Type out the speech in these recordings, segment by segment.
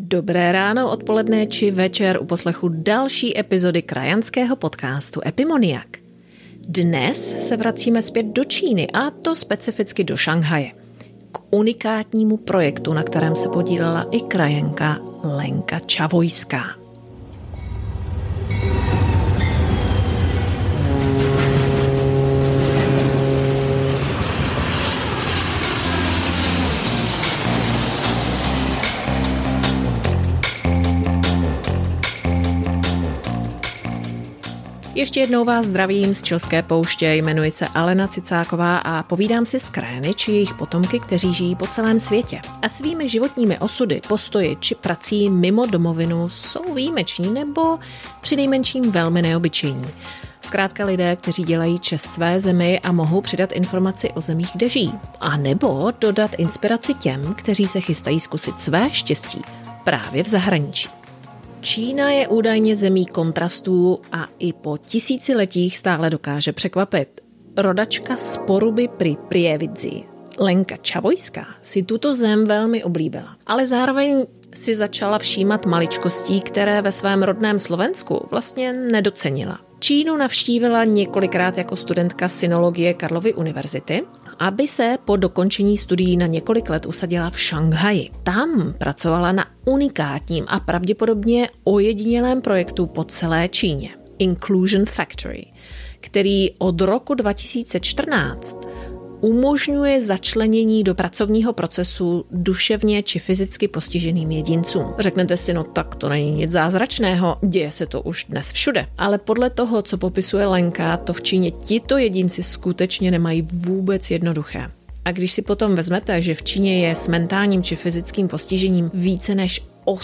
Dobré ráno, odpoledne či večer u poslechu další epizody krajanského podcastu Epimoniak. Dnes se vracíme zpět do Číny, a to specificky do Šanghaje. K unikátnímu projektu, na kterém se podílela i krajanka Lenka Čavojská. Ještě jednou vás zdravím z Chilské pouště, jmenuji se Alena Cicáková a povídám si s krajany či jejich potomky, kteří žijí po celém světě. A svými životními osudy, postoji či prací mimo domovinu jsou výjimeční nebo přinejmenším velmi neobyčejní. Zkrátka lidé, kteří dělají čest své zemi a mohou přidat informaci o zemích, kde žijí. A nebo dodat inspiraci těm, kteří se chystají zkusit své štěstí právě v zahraničí. Čína je údajně zemí kontrastů a i po tisíciletích stále dokáže překvapit. Rodačka z Poruby pri Prievidzi, Lenka Čavojská, si tuto zem velmi oblíbila, ale zároveň si začala všímat maličkostí, které ve svém rodném Slovensku vlastně nedocenila. Čínu navštívila několikrát jako studentka sinologie Karlovy univerzity, aby se po dokončení studií na několik let usadila v Šanghaji. Tam pracovala na unikátním a pravděpodobně ojedinělém projektu po celé Číně, Inclusion Factory, který od roku 2014 umožňuje začlenění do pracovního procesu duševně či fyzicky postiženým jedincům. Řeknete si, no tak to není nic zázračného, děje se to už dnes všude. Ale podle toho, co popisuje Lenka, to v Číně tito jedinci skutečně nemají vůbec jednoduché. A když si potom vezmete, že v Číně je s mentálním či fyzickým postižením více než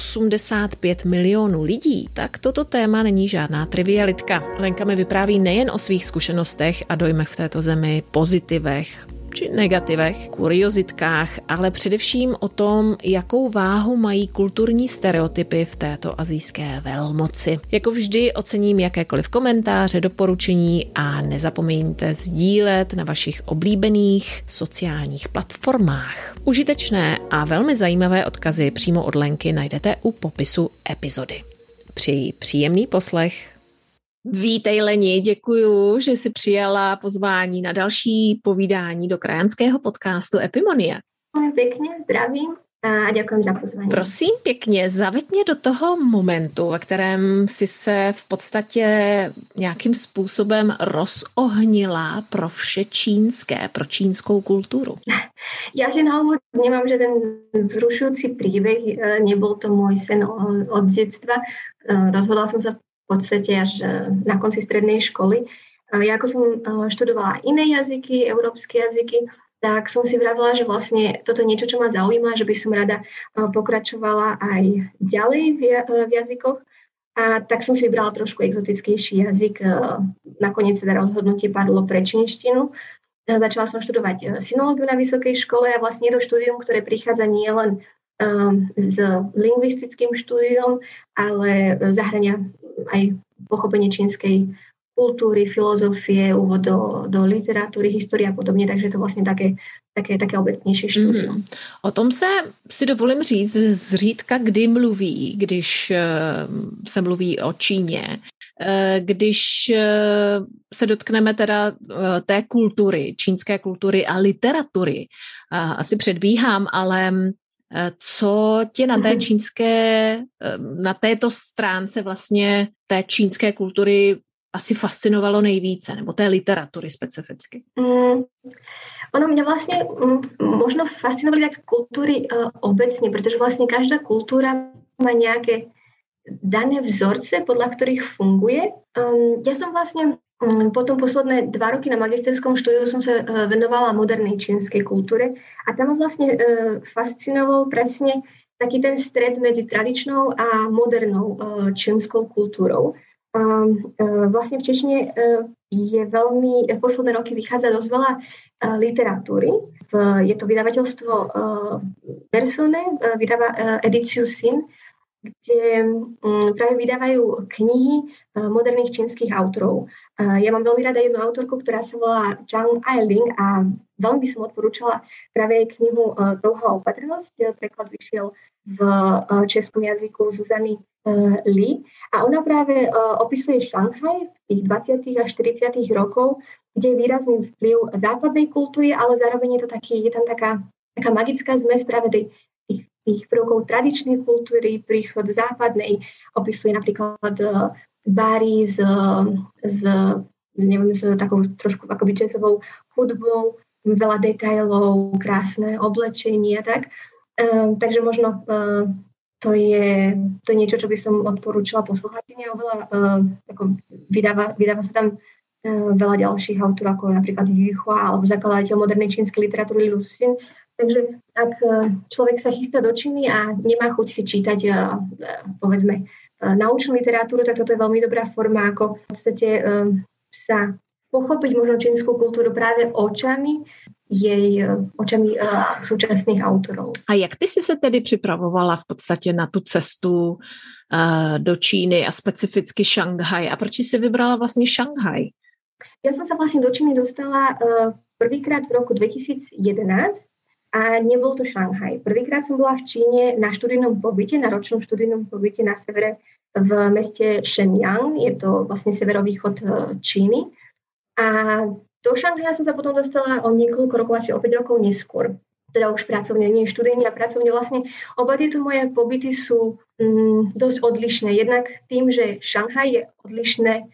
85 milionů lidí, tak toto téma není žádná trivialitka. Lenka mi vypráví nejen o svých zkušenostech a dojmech v této zemi, pozitivech či negativech, kuriozitkách, ale především o tom, jakou váhu mají kulturní stereotypy v této asijské velmoci. Jako vždy ocením jakékoliv komentáře, doporučení a nezapomeňte sdílet na vašich oblíbených sociálních platformách. Užitečné a velmi zajímavé odkazy přímo od Lenky najdete u popisu epizody. Přeji příjemný poslech. Vítej Leni, děkuju, že jsi přijala pozvání na další povídání do krajanského podcastu Epimonia. Pěkně, zdravím a děkuji za pozvání. Prosím pěkně, zaveď mě do toho momentu, ve kterém jsi se v podstatě nějakým způsobem rozohnila pro vše čínské, pro čínskou kulturu. Já si na úvod vnímám, že ten vzrušující příběh nebyl to můj sen od dětstva. Rozhodla jsem se v podstate až na konci strednej školy. Ja ako som študovala iné jazyky, európske jazyky, tak som si vravila, že vlastne toto je niečo, čo ma zaujíma, že by som rada pokračovala aj ďalej v jazykoch. A tak som si vybrala trošku exotickejší jazyk. Nakoniec teda rozhodnutie padlo pre čínštinu. Začala som študovať sinológiu na vysokej škole a vlastne je to štúdium, ktoré prichádza nielen s lingvistickým štúdiom, ale zahrania aj pochopenie čínskej kultúry, filozofie, úvod do literatúry, histórie a podobne, takže to vlastne také obecnější štúdium. O tom si dovolím říct zřídka, kdy mluví, když se mluví o Číně. Když se dotkneme teda té kultury, čínské kultury a literatury, asi předbíhám, ale co tě na té čínské, na této stránce vlastně té čínské kultury asi fascinovalo nejvíce, nebo té literatury specificky? Ono mě vlastně možno fascinovali tak kultury obecně, protože vlastně každá kultura má nějaké dané vzorce, podľa ktorých funguje. Ja som vlastne potom posledné 2 roky na magisterskom štúdiu som sa venovala modernej čínskej kultúre a tam ma vlastne fascinoval presne taký ten stred medzi tradičnou a modernou čínskou kultúrou. Vlastne v Čečne je veľmi, v posledné roky vychádza dosť veľa literatúry. Je to vydavateľstvo Persone, vydáva edíciu Syn. kde práve vydávajú knihy moderných čínskych autorov. Ja mám veľmi rada jednu autorku, ktorá sa volá Zhang Ailing a veľmi by som odporúčala práve jej knihu Touha opatrnosť. Preklad vyšiel v českom jazyku Zuzany Li. A ona práve opisuje Šanghaj v tých 20. až 40. rokov, kde je výrazný vplyv západnej kultúry, ale zároveň je tam taká magická zmes práve tých prvkov tradičnej kultúry, príchod západnej, opisuje napríklad bary s takou trošku akoby jazzovou hudbou, veľa detailov, krásne oblečenie a tak. Takže možno to je niečo, čo by som odporúčala poslucháčine. Vydáva sa tam veľa ďalších autorov, ako napríklad Yu Hua, alebo zakladateľ modernej čínskej literatúry Lu Xun. Takže ak človek sa chystá do Číny a nemá chuť si čítať, povedzme, naučnú literatúru, tak toto je veľmi dobrá forma, ako v podstate sa pochopiť možno čínsku kultúru práve očami současných autorov. A jak ty jsi se tedy připravovala v podstatě na tu cestu do Číny a specificky Šanghaj? A proč jsi vybrala vlastně Šanghaj? Ja som sa vlastne do Číny dostala prvýkrát v roku 2011 a nebol to Šanghaj. Prvýkrát som bola v Číne na študijnom pobyte, na ročnom študijnom pobyte na severe v meste Shenyang. Je to vlastne severovýchod Číny. A do Šanghaja som sa potom dostala o niekoľko rokov, asi o 5 rokov neskôr. Teda už pracovne, nie študijne a pracovne. Vlastne oba tieto moje pobyty sú dosť odlišné. Jednak tým, že Šanghaj je odlišné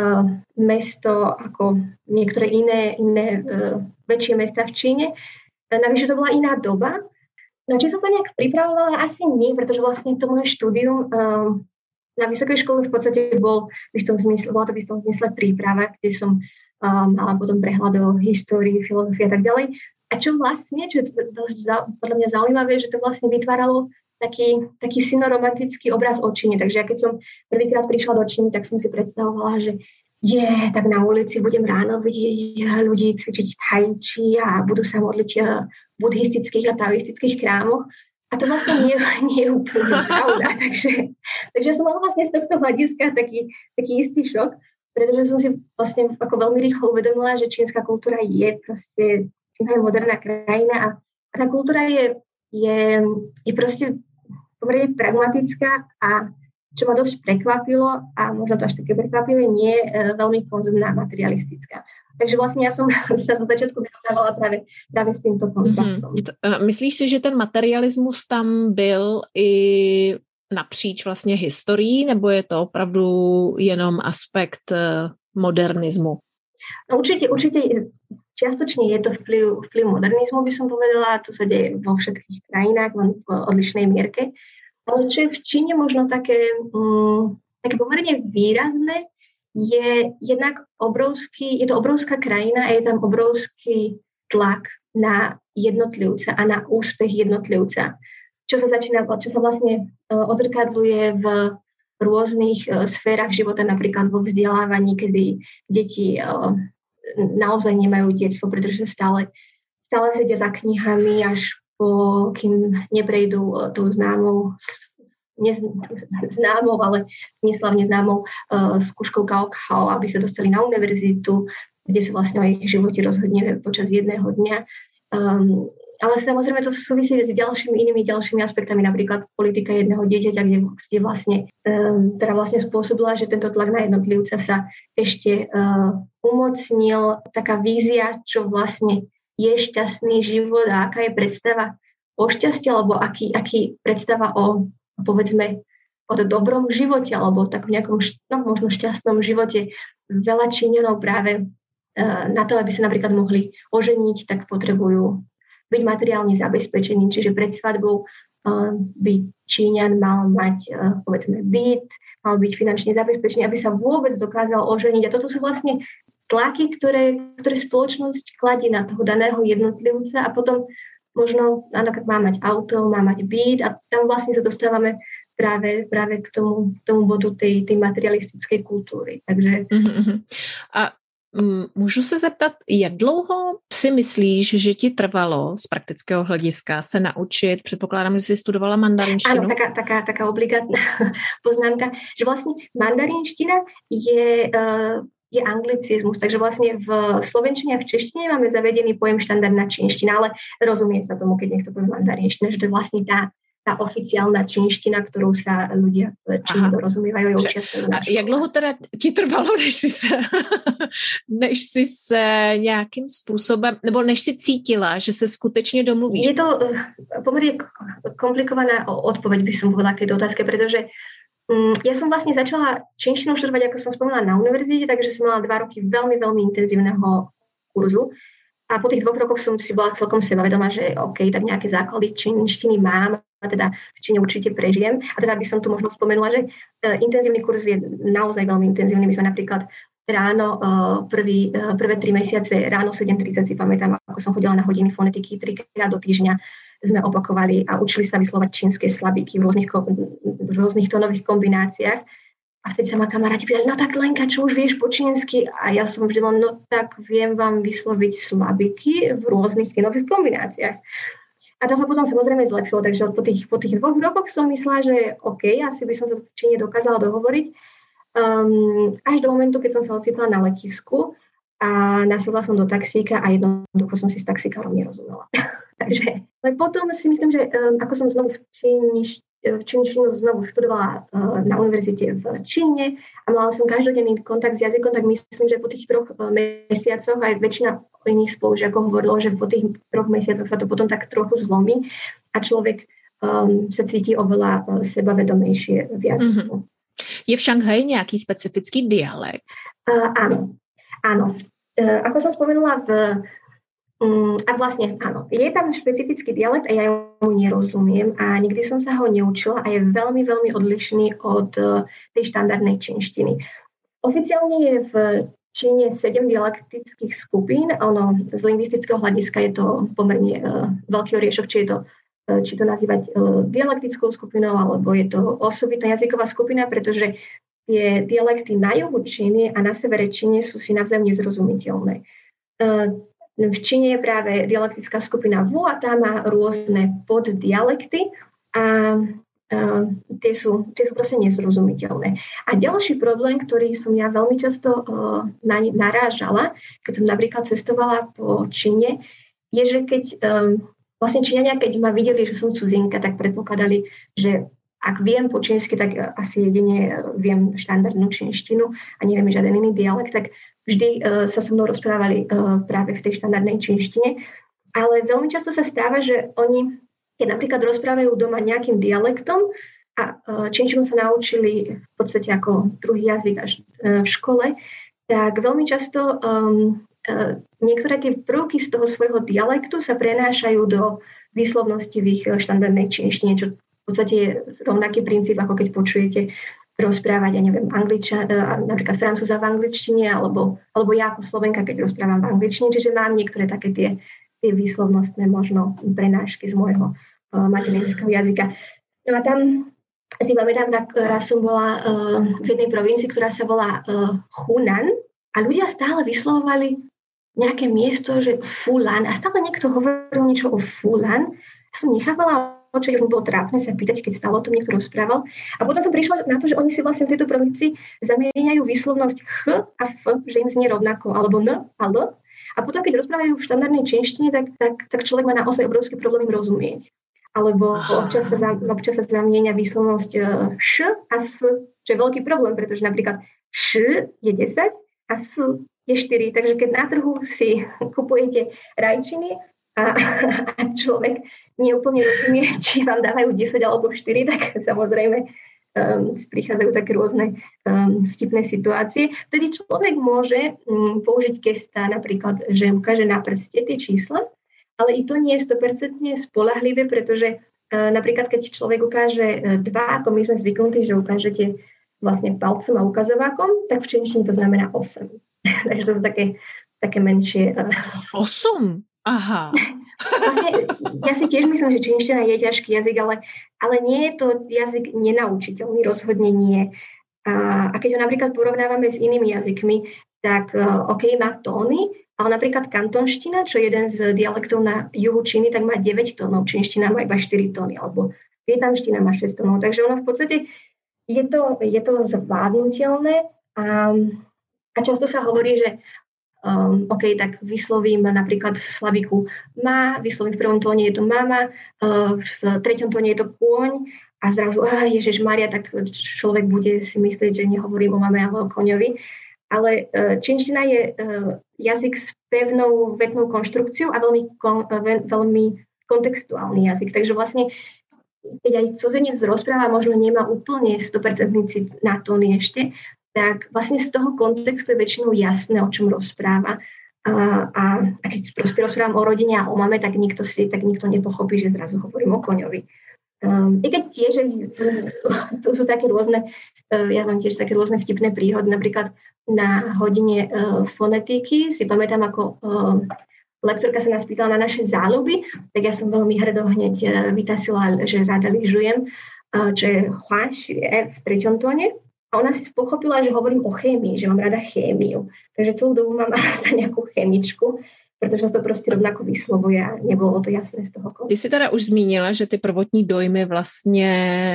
mesto ako niektoré iné väčšie mesta v Číne. Navyše to bola iná doba. Na či som sa nejak pripravovala? Asi nie, pretože vlastne to moje štúdium na vysokej škole v podstate bola to v istom zmysle príprava, kde som mala potom prehľad o histórii, filozofii a tak ďalej. A čo je dosť podľa mňa zaujímavé, že to vlastne vytváralo taký synoromantický obraz o Číne. Takže ja keď som prvýkrát prišla do Číny, tak som si predstavovala, že tak na ulici budem ráno vidieť ľudí cvičiť tai chi a budú sa modliť v buddhistických a taoistických chrámoch. A to vlastne nie je úplne pravda. Takže som mala vlastne z tohto hľadiska taký istý šok, pretože som si vlastne ako veľmi rýchlo uvedomila, že čínska kultúra je proste moderná krajina a tá kultúra je proste pomerne pragmatická a čo ma dosť prekvapilo a možno to až také prekvapivé, nie je veľmi konzumná, materialistická. Takže vlastně já jsem se za začátku vyrovnávala právě s tímto kontrastom. Myslíš si, že ten materialismus tam byl i napříč vlastně historií, nebo je to opravdu jenom aspekt modernismu? No určitě čiastočne je to vplyv modernizmu, by som povedala, to sa deje vo všetkých krajinách, len v odlišnej mierke. Ale čo je v Číne možno také pomerne výrazné, je jednak je to obrovská krajina a je tam obrovský tlak na jednotlivca a na úspech jednotlivca, čo sa vlastne odzrkadluje v rôznych sférach života, napríklad vo vzdelávaní, kedy deti naozaj nemajú detstvo, pretože stále sedia za knihami, až kým neprejdú tou známou, ale neslavne známou skúškou Gaokao, aby sa dostali na univerzitu, kde sa vlastne o ich živote rozhodne počas jedného dňa. Ale samozrejme to súvisí s inými ďalšími aspektami, napríklad politika jedného dieťaťa, kde vlastne spôsobila, že tento tlak na jednotlivca sa ešte umocnil. Taká vízia, čo vlastne je šťastný život a aká je predstava o šťastí, alebo aký predstava o, povedzme, o dobrom živote, alebo tak v nejakom možno šťastnom živote. Veľa Číňanov práve na to, aby sa napríklad mohli oženiť, tak potrebujú byť materiálne zabezpečení, čiže pred svadbou by Číňan mal mať, povedzme, byt, mal byť finančne zabezpečený, aby sa vôbec dokázal oženiť. A toto sú vlastne tlaky, ktoré spoločnosť kladie na toho daného jednotlivca a potom možno, áno, má mať auto, má mať byt a tam vlastne sa dostávame práve k tomu bodu tej materialistickej kultúry. Takže... A Můžu se zeptat, jak dlouho si myslíš, že ti trvalo z praktického hlediska se naučit? Předpokládám, že jsi studovala mandarinštinu. Áno, taká obligátna poznámka, že vlastne mandarinština je anglicizmus, takže vlastne v slovenčine a v češtine máme zavedený pojem štandardná čínština, ale rozumie sa tomu, keď niekto povie mandarinština, že to je vlastne tá oficiálna čínština, ktorou sa ľudia v Číne dorozumievajú. A jak dlouho teda ti trvalo, než si se nějakým způsobem, nebo než si cítila, že se skutečne domluvíš? Je to pomerne komplikovaná odpoveď, by som povedala k tejto otázke, pretože ja som vlastne začala čínštinu študovať, ako som spomínala, na univerzite, takže som mala 2 roky veľmi, veľmi intenzívneho kurzu. A po tých 2 rokoch som si bola celkom sebavedomá, že OK, tak nejaké základy čínštiny mám a teda v Číne určite prežijem. A teda by som tu možno spomenula, že intenzívny kurz je naozaj veľmi intenzívny. My sme napríklad ráno, prvé 3 mesiace, ráno 7:30 si pamätám, ako som chodila na hodiny fonetiky 3-krát do týždňa, sme opakovali a učili sa vyslovať čínske slabíky v rôznych tónových kombináciách. A vtedy sa ma kamaráti pýtali, no tak Lenka, čo už vieš po čínsky? A ja som vždy bola, no tak viem vám vysloviť slabiky v rôznych tónových kombináciách. A to sa potom samozrejme zlepšilo, takže po tých 2 rokoch som myslela, že OK, asi by som sa v Číne dokázala dohovoriť. Až do momentu, keď som sa ocitla na letisku a nasadla som do taxíka a jednoducho som si s taxikárom nerozumela. Takže potom si myslím, že ako som znovu v čínštinu znovu študovala na univerzite v Číne a mala som každodenný kontakt s jazykom, tak myslím, že po tých 3 mesiacoch aj väčšina iných spolužiakov hovorilo, že po tých 3 mesiacoch sa to potom tak trochu zlomí a človek sa cíti oveľa sebavedomejšie v jazyku. Je v Šanghaji nejaký specifický dialekt? Áno. Ako som spomenula a vlastne áno, je tam špecifický dialekt a ja mu nerozumiem a nikdy som sa ho neučila a je veľmi, veľmi odlišný od tej štandardnej čínštiny. Oficiálne je v Číne 7 dialektických skupín, z lingvistického hľadiska je to pomerne veľký oriešok, či to nazývať dialektickou skupinou, alebo je to osobitná jazyková skupina, pretože tie dialekty na juhu Číny a na severe Číny sú si navzájom nezrozumiteľné. V Číne je práve dialektická skupina Wu a tá má rôzne poddialekty a tie sú proste nezrozumiteľné. A ďalší problém, ktorý som ja veľmi často narážala, keď som napríklad cestovala po Číne, je, že keď vlastne Číňania, keď ma videli, že som cudzinka, tak predpokladali, že ak viem po čínsky, tak asi jedine viem štandardnú čínštinu a neviem žiaden iný dialekt, tak vždy sa so mnou rozprávali práve v tej štandardnej čínštine. Ale veľmi často sa stáva, že oni, keď napríklad rozprávajú doma nejakým dialektom a čínštinu sa naučili v podstate ako druhý jazyk až v škole, tak veľmi často niektoré tie prvky z toho svojho dialektu sa prenášajú do výslovnosti v ich štandardnej čínštine, čo v podstate je rovnaký princíp, ako keď počujete rozprávať, ja neviem, napríklad Francúza v angličtine, alebo ja ako Slovenka, keď rozprávam v angličtine, čiže mám niektoré také tie výslovnostné možno prenášky z môjho materinského jazyka. No a tam si pamätám, raz som bola v jednej provincii, ktorá sa volá Hunan a ľudia stále vyslovovali nejaké miesto, že Fulan a stále niekto hovoril niečo o Fulan. Som nechápala, čo už mi bolo trápne sa pýtať, keď stále o tom niekto rozprával. A potom som prišla na to, že oni si vlastne v tejto provincii zamieňajú výslovnosť ch a f, že im znie rovnako, alebo n a l. A potom, keď rozprávajú v štandardnej čínštine, tak človek má naozaj obrovský problém im rozumieť. Alebo občas sa zamieňa výslovnosť š a s, čo je veľký problém, pretože napríklad š je 10 a s je 4. Takže keď na trhu si kupujete rajčiny a človek neúplne rozumie, či vám dávajú 10 alebo 4, tak samozrejme prichádzajú také rôzne vtipné situácie. Vtedy človek môže použiť gesta, napríklad, že ukáže na prste tie čísla, ale i to nie je 100% spoľahlivé, pretože napríklad, keď človek ukáže 2, ako my sme zvyknutí, že ukážete vlastne palcom a ukazovákom, tak v čínštine to znamená 8. Takže to sú také menšie... 8? Aha. Vlastne, ja si tiež myslím, že čínština je ťažký jazyk, ale nie je to jazyk nenaučiteľný, rozhodne nie. A keď ho napríklad porovnávame s inými jazykmi, tak OK, má tóny, ale napríklad kantonština, čo je jeden z dialektov na juhu Číny, tak má 9 tónov, čínština má iba 4 tóny, alebo vietnamština má 6 tónov. Takže ono v podstate je to zvládnutelné a často sa hovorí, že OK, tak vyslovím napríklad slabiku má, vyslovím v prvom tóne je to mama, v treťom tóne je to kôň a zrazu, Ježišmaria, tak človek bude si myslieť, že nehovorím o mame, ale o koňovi. Ale čínština je jazyk s pevnou vetnou konštrukciou a veľmi kontextuálny jazyk. Takže vlastne keď aj cudzinec rozpráva, možno nemá úplne 100% cit na tóny ešte, tak vlastne z toho kontextu je väčšinou jasné, o čom rozpráva. A keď proste rozprávam o rodine a o mame, tak nikto nepochopí, že zrazu hovorím o koňovi. I keď tiež tu sú také rôzne, ja mám tiež také rôzne vtipné príhody, napríklad na hodine fonetiky si pamätám, ako lektorka sa nás pýtala na naše záľuby, tak ja som veľmi hrdo hneď vytasila, že rada lyžujem, čo je hláš v treťom tóne. A ona si pochopila, že hovorím o chémii, že mám rada chémiu. Takže celú dobu mám za nejakú chemičku, protože to prostě rovnako vyslovuje a nebylo to jasné z toho. Ty jsi teda už zmínila, že ty prvotní dojmy vlastně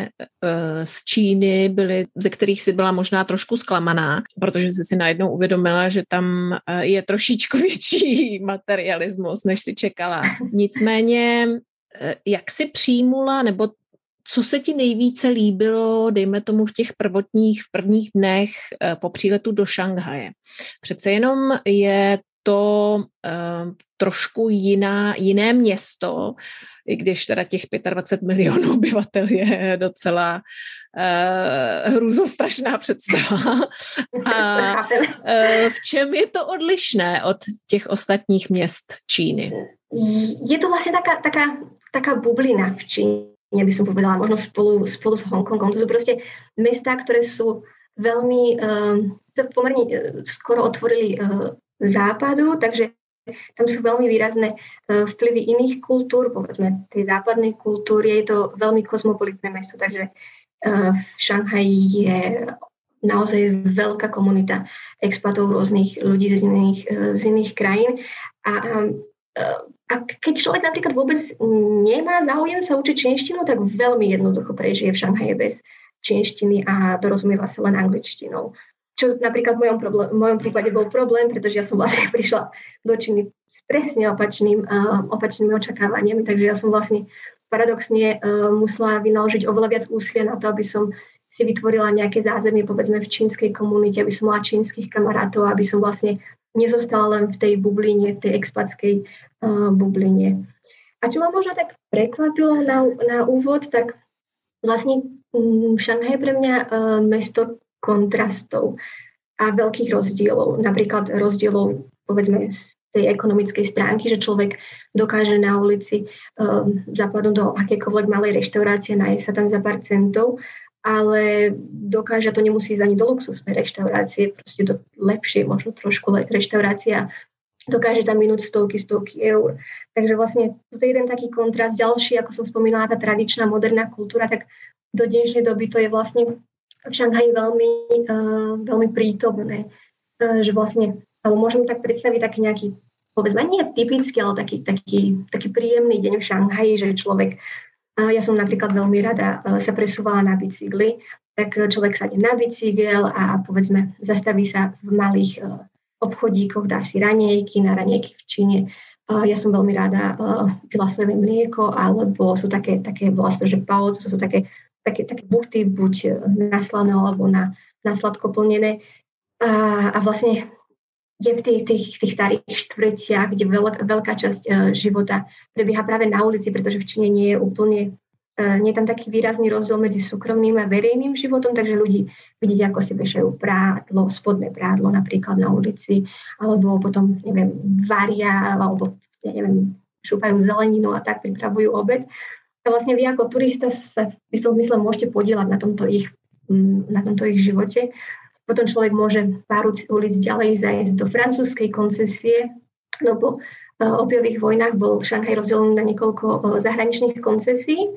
z Číny byly, ze kterých si byla možná trošku zklamaná, protože jsi si najednou uvědomila, že tam je trošičku větší materialismus, než si čekala. Nicméně, jak si přijmula, nebo co se ti nejvíce líbilo, dejme tomu v těch prvních dnech po příletu do Šanghaje? Přece jenom je to trošku jiné město, i když teda těch 25 milionů obyvatel je docela hrůzostrašná představa. A v čem je to odlišné od těch ostatních měst Číny? Je to vlastně taká bublina v Číně, by som povedala, možno spolu s Hongkongom. To sú proste mestá, ktoré sú veľmi, pomerne skoro otvorili západu, takže tam sú veľmi výrazné vplyvy iných kultúr, povedzme tej západnej kultúry. Je to veľmi kozmopolitné mesto, takže v Šanghaji je naozaj veľká komunita expatov, rôznych ľudí z iných krajín. A keď človek napríklad vôbec nemá záujem sa učiť čínštinu, tak veľmi jednoducho prežije v Šanghaji bez čínštiny a dorozumieva sa len angličtinou. Čo napríklad v mojom prípade bol problém, pretože ja som vlastne prišla do Číny s presne opačnými očakávaniami, takže ja som vlastne paradoxne musela vynaložiť oveľa viac úsilia na to, aby som si vytvorila nejaké zázemie, povedzme v čínskej komunite, aby som mala čínskych kamarátov, aby som vlastne nezostala len v tej bubline, v tej expatskej bubline. A čo ma možno tak prekvapilo na úvod, tak vlastne Šanghaj je pre mňa mesto kontrastov a veľkých rozdielov. Napríklad rozdielov, povedzme, z tej ekonomickej stránky, že človek dokáže na ulici zapadnúť do akékoľvek malej reštaurácie, nájsť sa tam za pár centov, ale dokáže, to nemusí ísť ani do luxusnej reštaurácie, proste do lepšej, možno trošku reštaurácia, dokáže tam minúť stovky eur. Takže vlastne to je jeden taký kontrast. Ďalší, ako som spomínala, tá tradičná moderná kultúra, tak do dnešnej doby to je vlastne v Šanghaji veľmi prítomné. Že vlastne, alebo môžem tak predstaviť taký nejaký, povedzme, nie typický, ale taký príjemný deň v Šanghaji, že človek, ja som napríklad veľmi rada sa presúvala na bicykli, tak človek sadne na bicykel a povedzme zastaví sa v malých obchodíkoch, dá si raňajky, na raňajky v Číne. Ja som veľmi rada pila sojové mlieko, alebo sú také vlastne, že pao, to sú také buchty, buď na slané, alebo na sladko plnené. A vlastne je v tých starých štvrtiach, kde veľká časť života prebieha práve na ulici, pretože v Číne nie je tam taký výrazný rozdiel medzi súkromným a verejným životom, takže ľudí vidíte, ako si vešajú prádlo, spodné prádlo napríklad na ulici, alebo potom, neviem, varia, alebo, šúpajú zeleninu a tak pripravujú obed. A vlastne vy ako turista sa v istom zmysle môžete podieľať na tomto ich živote. Potom človek môže pár ulic ďalej zajsť do francúzskej koncesie, no po opiových vojnách bol Šanghaj rozdelený na niekoľko zahraničných koncesí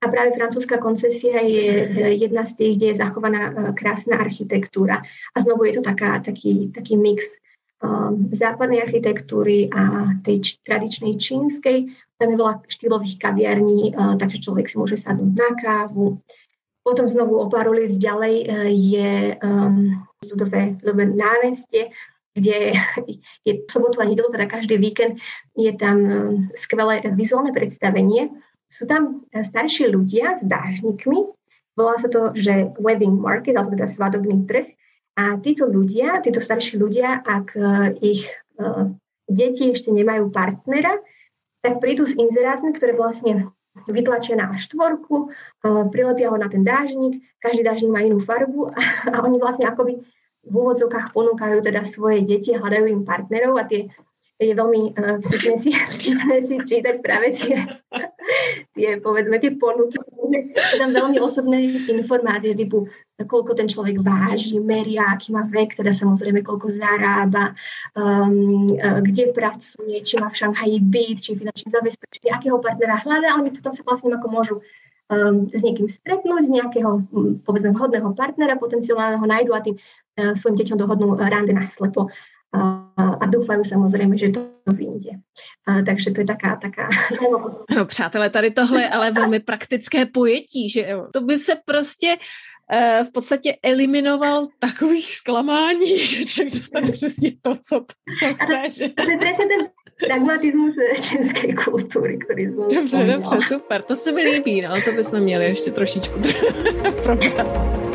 A práve francúzska koncesia je jedna z tých, kde je zachovaná krásna architektúra. A znovu je to taký mix západnej architektúry a tej tradičnej čínskej. Tam je veľa štýlových kaviarní, takže človek si môže sadnúť na kávu. Potom znovu o pár ulic ďalej je ľudové námestie, kde je sobotu a nedeľu, teda každý víkend je tam skvelé vizuálne predstavenie. Sú tam starší ľudia s dážnikmi, volá sa to, že wedding market, alebo teda svadobný trh. A títo starší ľudia, ak ich deti ešte nemajú partnera, tak prídu s inzerátmi, ktoré vlastne vytlačia na štvorku, prilepia ho na ten dážnik, každý dážnik má inú farbu a oni vlastne akoby v úvodzovkách ponúkajú teda svoje deti, hľadajú im partnerov a je veľmi vtipné si čítať práve tie ponuky. Sú tam veľmi osobné informácie, typu koľko ten človek váži, meria, aký má vek, teda samozrejme koľko zarába, kde pracuje, či má v Šanghaji byt, či finančne zabezpečený, akého partnera hľadá. Oni potom sa vlastne ako môžu s niekým stretnúť, z nejakého, povedzme, vhodného partnera potenciálneho nájdu a tým svojim deťom dohodnú rande naslepo. A dúfajú samozrejme, že to vyjde. Takže to je taká zajímavosť. No přátelé, tady tohle je ale velmi praktické pojetí, že jo. To by se prostě v podstatě eliminoval takových zklamání, že člověk dostane přesně to, co chce. To je presne ten pragmatizmus české kultury, který jsem Dobře, super, to se mi líbí, no, to bychom měli ještě trošičku probrat.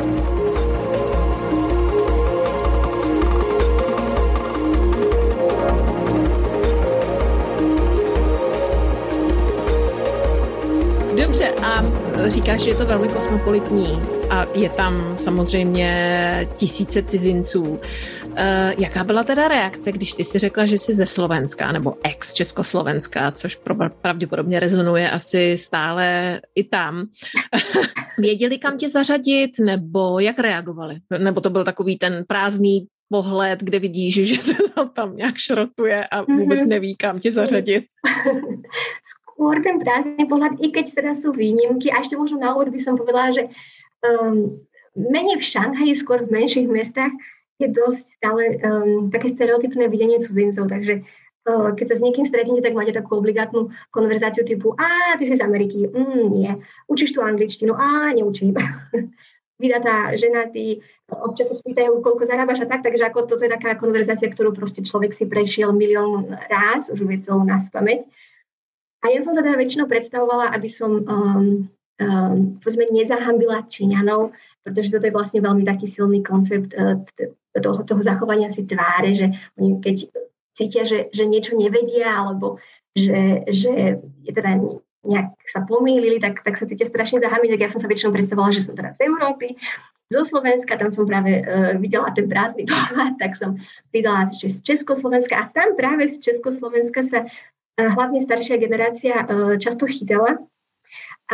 Dobře, a říkáš, že je to velmi kosmopolitní a je tam samozřejmě tisíce cizinců. Jaká byla teda reakce, když ty si řekla, že jsi ze Slovenska nebo ex-Československa, což pravděpodobně rezonuje asi stále i tam. Věděli, kam tě zařadit, nebo jak reagovali? Nebo to byl takový ten prázdný pohled, kde vidíš, že se tam nějak šrotuje a vůbec neví, kam tě zařadit? Skôr ten prázdny pohľad, i keď teda sú výnimky. A ešte možno na úvod by som povedala, že menej v Šanghaji, skôr v menších mestách je dosť stále také stereotypné videnie cudzincov. Takže keď sa s niekým stretnete, tak máte takú obligátnu konverzáciu typu ty si z Ameriky, nie. Učíš tu angličtinu? Neučím. Vydatá, ženatý, občas sa spýtajú, koľko zarábaš a tak, takže ako toto je taká konverzácia, ktorú proste človek si prešiel milión ráz, už vie celú naspamäť. A ja som sa teda väčšinou predstavovala, aby som povedzme nezahambila Číňanov, pretože toto je vlastne veľmi taký silný koncept toho zachovania si tváre, že oni keď cítia, že niečo nevedia, alebo že je teda nejak sa pomýlili, tak sa cítia strašne zahambiť. Tak ja som sa väčšinou predstavovala, že som teda z Európy, zo Slovenska, tam som práve videla ten prázdny pohľad, tak som pridala z Československa a tam práve z Československa sa hlavne staršia generácia často chytala. A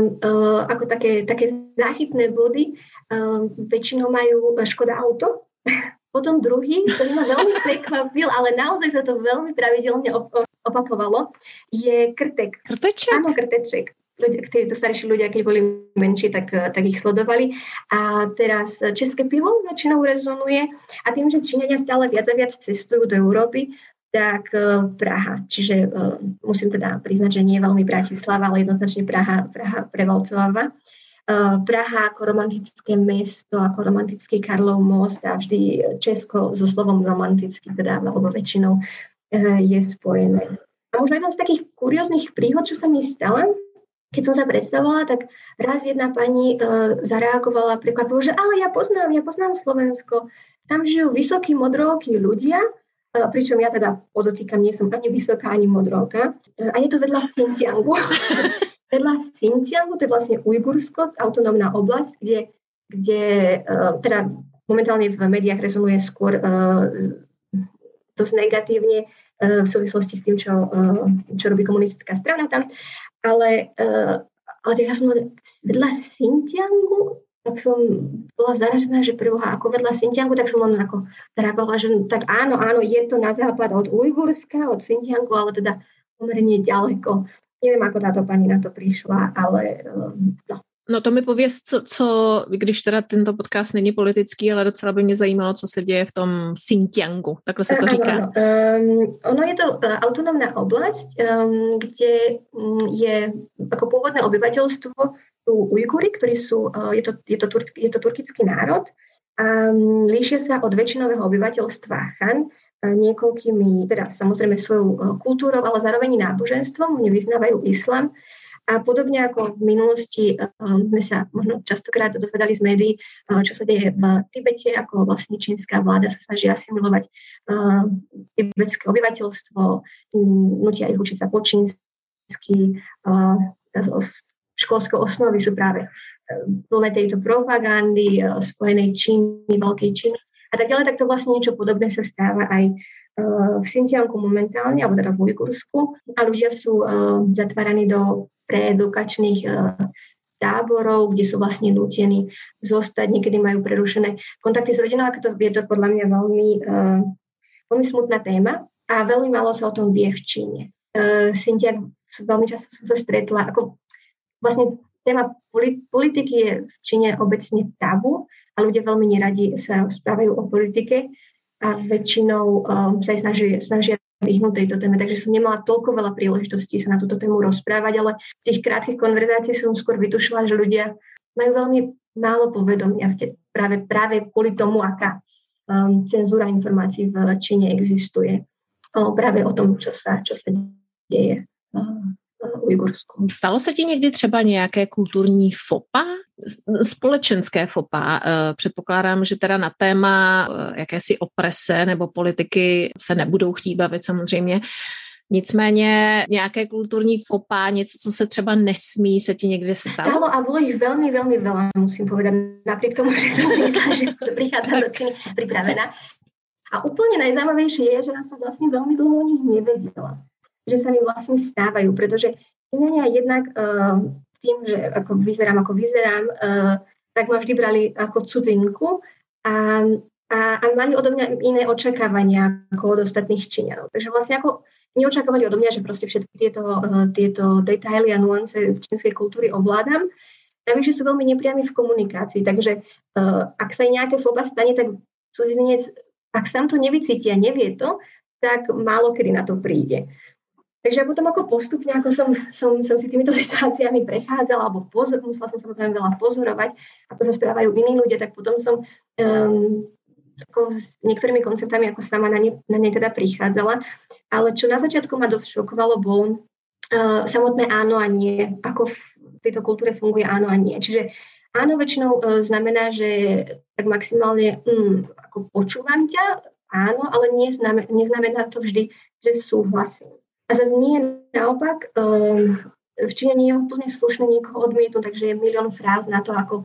ako také záchytné body väčšinou majú Škoda auto. Potom druhý, ktorý ma veľmi prekvapil, ale naozaj sa to veľmi pravidelne opakovalo, je krtek. Krteček? Áno, krteček. Títo starší ľudia, keď boli menší, tak ich sledovali. A teraz české pivo väčšinou rezonuje. A tým, že Číňania stále viac a viac cestujú do Európy, tak Praha. Čiže musím teda priznať, že nie je veľmi Bratislava, ale jednoznačne Praha prevalcováva. Praha ako romantické mesto, ako romantický Karlov most a vždy Česko so slovom romantický, teda alebo väčšinou je spojené. A možno jedna z takých kurióznych príhod, čo sa mi stala, keď som sa predstavovala, tak raz jedna pani zareagovala prekvapivo, že ale ja poznám Slovensko. Tam žijú vysokí modrookí ľudia, pričom ja teda podotýkam, nie som ani vysoká, ani modróka. A je to vedľa Xinjiangu. Vedľa Xinjiangu, to je vlastne Ujgursko, autonómna oblasť, kde teda momentálne v médiách rezonuje skôr dosť negatívne v súvislosti s tým, čo robí komunistická strana tam. Ale ja som vedľa Xinjiangu, tak som bola zaražená, že preboha, ako vedľa Xinjiangu, tak som len ako reagovala, že tak áno, je to na západ od Ujgurska, od Xinjiangu, ale teda pomerne ďaleko. Neviem, ako táto pani na to prišla, ale no. No to mi pověz, co, když teda tento podcast není politický, ale docela by mě zajímalo, co se děje v tom Xinjiangu, takhle se to říká. Ano. Ono je to autonómna oblasť, kde je ako pôvodné obyvateľstvo sú Ujguri, ktorí sú, je to turkický národ a líšia sa od väčšinového obyvateľstva Han niekoľkými, teda samozrejme svojou kultúrou, ale zároveň náboženstvom, oni vyznávajú islam. A podobne ako v minulosti sme sa možno častokrát dozvedali z médií, čo sa deje v Tibete, ako vlastne čínska vláda sa snaží asimilovať tibetské obyvateľstvo, nutia ich učiť sa po čínsky, školské osnovy sú práve plné tejto propagandy, spojenej Číny, veľkej Číny a tak ďalej, tak to vlastne niečo podobné sa stáva aj v Xinjiangu momentálne, alebo teda v Ujgursku a ľudia sú zatváraní do preedukačných táborov, kde sú vlastne nútení zostať, niekedy majú prerušené kontakty s rodinou, ako to je to podľa mňa veľmi smutná téma a veľmi málo sa o tom vie v Číne. Xinjiang veľmi často som sa stretla, ako vlastne téma politiky je v Číne obecne tabu a ľudia veľmi neradi sa správajú o politike a väčšinou sa aj snažia vyhnúť tejto téme, takže som nemala toľko veľa príležitostí sa na túto tému rozprávať, ale v tých krátkych konverzácií som skôr vytušila, že ľudia majú veľmi málo povedomia práve kvôli tomu, aká cenzúra informácií v Číne existuje. Práve o tom, čo sa deje v Ujgursku. Stalo se ti někdy třeba nějaké kulturní fopa? Společenské fopa? Předpokládám, že teda na téma jakési oprese nebo politiky se nebudou chtít bavit samozřejmě. Nicméně nějaké kulturní fopa, něco, co se třeba nesmí, se ti někde stalo? Stalo a bolo ich veľmi, veľmi veľa, musím povedať. Napriek tomu, že som si myslela, že prichádzam do Číny pripravená. A úplne najzaujímavejšie je, že ja som vlastne veľmi dlho o nich nevedela. Že sa mi vlastne stávajú, pretože Číňania jednak tým, že ako vyzerám, tak ma vždy brali ako cudzinku a mali odo mňa iné očakávania ako od ostatných Číňanov. Takže vlastne ako neočakávali odo mňa, že proste všetky tieto detaily a nuance čínskej kultúry ovládam. Navyše sú veľmi nepriami v komunikácii, takže ak sa nejaké foba stane, tak cudzinec, ak sám to nevycíti a nevie to, tak málo kedy na to príde. Takže potom ako postupne, ako som si týmito situáciami prechádzala, alebo musela som samozrejme veľa pozorovať, ako sa správajú iní ľudia, tak potom som s niektorými konceptami ako sama na ne teda prichádzala. Ale čo na začiatku ma dosť šokovalo, bol samotné áno a nie, ako v tejto kultúre funguje áno a nie. Čiže áno väčšinou znamená, že tak maximálne ako počúvam ťa, áno, ale neznamená to vždy, že súhlasím. A zase nie naopak, v Číne nie je úplne slušné niekoho odmietnúť, takže je milión fráz na to, ako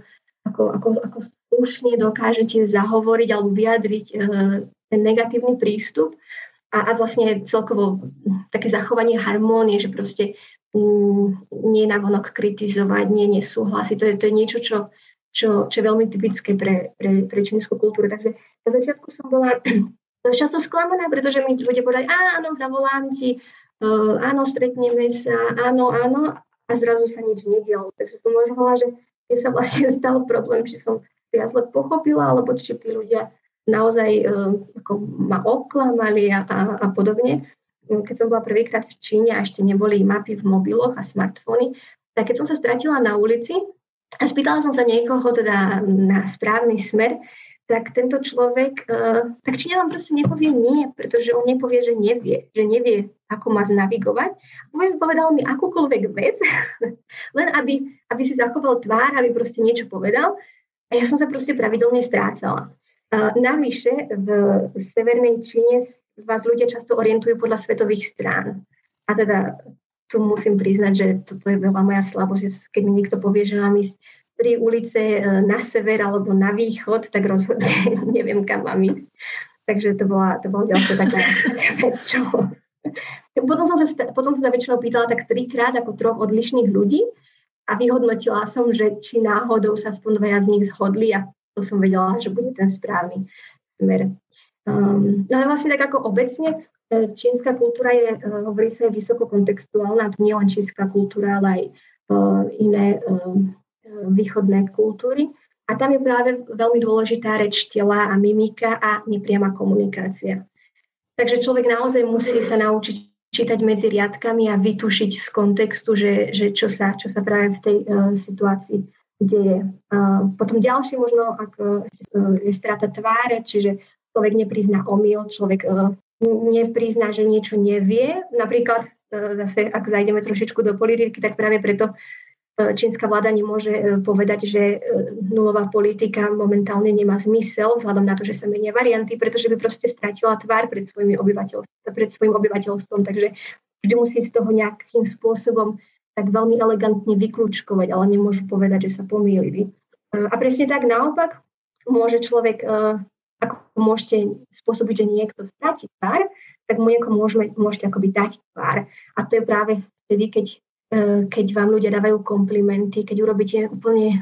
slušne dokážete zahovoriť alebo vyjadriť ten negatívny prístup a vlastne celkovo také zachovanie harmónie, že proste nie navonok kritizovať, nie nesúhlasiť. To je niečo, čo je veľmi typické pre čínsku kultúru. Takže na začiatku som bola často sklamaná, pretože mi ľudia povedali, áno, zavolám ti, áno, stretneme sa, áno, a zrazu sa nič nedialo. Takže som uvažovala, že sa vlastne stal problém, či som ja zle pochopila, alebo či tí ľudia naozaj ako ma oklamali a podobne. Keď som bola prvýkrát v Číne a ešte neboli mapy v mobiloch a smartfóny, tak keď som sa stratila na ulici a spýtala som sa niekoho teda na správny smer, tak tento človek, tak Číňa vám proste nepovie nie, pretože on nepovie, že nevie, ako má znavigovať. Povedal mi akúkoľvek vec, len aby si zachoval tvár, aby proste niečo povedal. A ja som sa proste pravidelne strácala. Navyše v severnej Číne vás ľudia často orientujú podľa svetových strán. A teda tu musím priznať, že toto je veľa moja slabosť. Keď mi niekto povie, že mám ísť 3 ulice na sever alebo na východ, tak rozhodne neviem, kam mám ísť. Takže to bola ďalšia taká vec, čo... Potom som sa väčšinou pýtala tak 3-krát ako 3 odlišných ľudí a vyhodnotila som, že či náhodou sa aspoň 2 z nich zhodli a to som vedela, že bude ten správny smer. No ale vlastne tak ako obecne, čínska kultúra je, hovorí sa, je vysoko kontextuálna, to nie len čínska kultúra, ale aj iné východné kultúry. A tam je práve veľmi dôležitá reč tela a mimika a nepriama komunikácia. Takže človek naozaj musí sa naučiť čítať medzi riadkami a vytušiť z kontextu, že čo sa práve v tej situácii deje. Potom ďalší možno je strata tváre, čiže človek neprizná omyl, človek neprizná, že niečo nevie. Napríklad zase, ak zajdeme trošičku do politiky, tak práve preto čínska vláda nemôže povedať, že nulová politika momentálne nemá zmysel, vzhľadom na to, že sa menia varianty, pretože by proste stratila tvár pred svojim obyvateľstvom. Takže vždy musí z toho nejakým spôsobom tak veľmi elegantne vyklúčkovať, ale nemôžu povedať, že sa pomýlili. A presne tak naopak môže človek, ako môžete spôsobiť, že niekto stratí tvár, tak mu niekomu môžete akoby dať tvár. A to je práve vtedy, keď vám ľudia dávajú komplimenty, keď urobíte úplne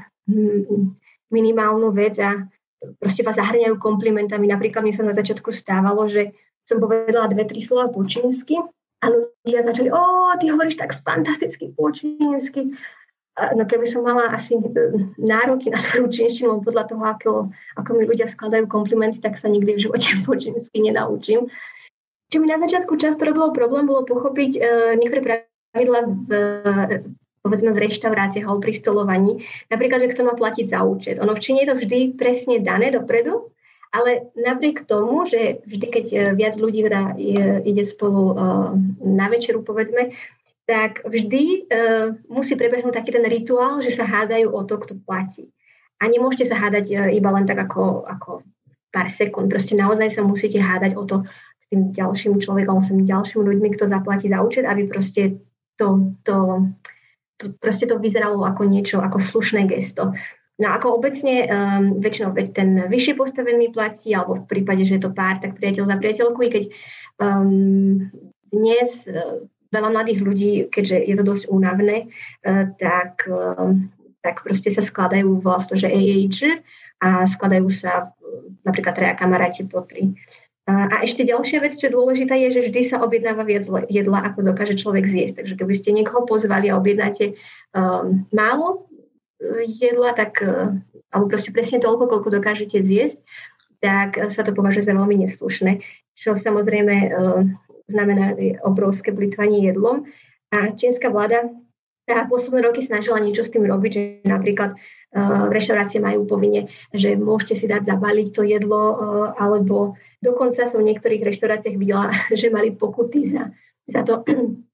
minimálnu vec a proste vás zahrňajú komplimentami. Napríklad mi sa na začiatku stávalo, že som povedala 2-3 slova po čínsky a ľudia začali, ty hovoríš tak fantasticky po čínsky. No keby som mala asi nároky na svoju čínštinu podľa toho, ako mi ľudia skladajú komplimenty, tak sa nikdy v živote po čínsky nenaučím. Čo mi na začiatku často robilo problém, bolo pochopiť niektoré pravidlá povedzme v reštauráciách alebo pri stolovaní. Napríklad, že kto má platiť za účet. Ono v Číne je to vždy presne dané dopredu, ale napriek tomu, že vždy, keď viac ľudí ide spolu na večeru, povedzme, tak vždy musí prebehnúť taký ten rituál, že sa hádajú o to, kto platí. A nemôžete sa hádať iba len tak ako pár sekúnd. Proste naozaj sa musíte hádať o to s tým ďalším človekom, s tými ďalšími ľuďmi, kto zaplatí za účet, aby proste to vyzeralo ako niečo, ako slušné gesto. No ako obecne väčšinou ten vyššie postavený platí, alebo v prípade, že je to pár, tak priateľ za priateľku, i keď dnes veľa mladých ľudí, keďže je to dosť únavné, tak proste sa skladajú vlastne, že AAG a skladajú sa napríklad 3 kamaráti po 3. A ešte ďalšia vec, čo je dôležitá, je, že vždy sa objednáva viac jedla, ako dokáže človek zjesť. Takže keby ste niekoho pozvali a objednáte málo jedla, tak, alebo proste presne toľko, koľko dokážete zjesť, tak sa to považuje za veľmi neslušné. Čo samozrejme znamená obrovské plytvanie jedlom. A čínska vláda sa posledné roky snažila niečo s tým robiť, že napríklad v reštaurácie majú povinne, že môžete si dať zabaliť to jedlo, alebo dokonca som v niektorých reštauráciách videla, že mali pokuty za to,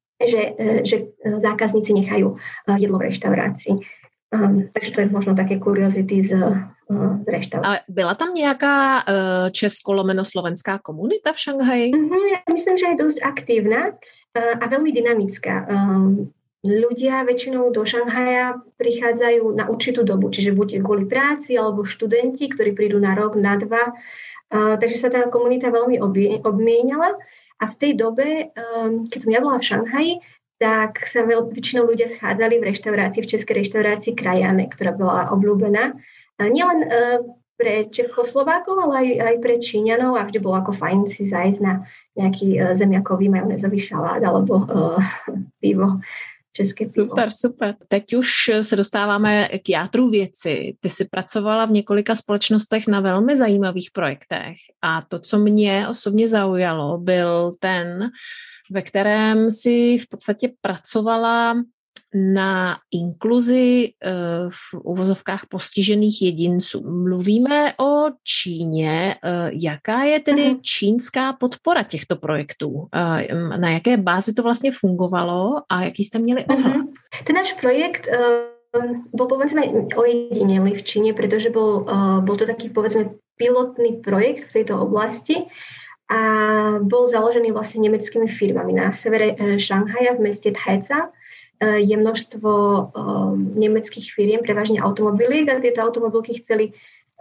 že zákazníci nechajú jedlo v reštaurácii. Takže to je možno také kuriozity z reštaurácie. Ale byla tam nějaká česko-slovenská komunita v Šanghaji? Ja myslím, že je dosť aktívna a veľmi dynamická. Ľudia väčšinou do Šanghaja prichádzajú na určitú dobu, čiže buď kvôli práci, alebo študenti, ktorí prídu na rok, na 2. Takže sa tá komunita veľmi obmieniala a v tej dobe, keď som ja bola v Šanghaji, tak sa väčšinou ľudia schádzali v reštaurácii, v českej reštaurácii Krajane, ktorá bola obľúbená. Nielen pre Čechoslovákov, ale aj pre Číňanov a vždy bolo ako fajn si zájsť na nejaký zemiakový majonézový šalát alebo pivo. České pivo. Super. Teď už se dostáváme k jádru věci. Ty jsi pracovala v několika společnostech na velmi zajímavých projektech a to, co mě osobně zaujalo, byl ten, ve kterém si v podstatě pracovala na inkluzi v uvozovkách postižených jedinců. Mluvíme o Číně. Jaká je tedy čínská podpora těchto projektů? Na jaké bázi to vlastně fungovalo a jaký jste měli ohled? Ten náš projekt bol povedzme ojedinelý v Číne, pretože bol to taký povedzme pilotný projekt v tejto oblasti a bol založený vlastne nemeckými firmami. Na severe Šanghaja v meste Taicang je množstvo nemeckých firiem, prevažne automobiliek a tieto automobilky chceli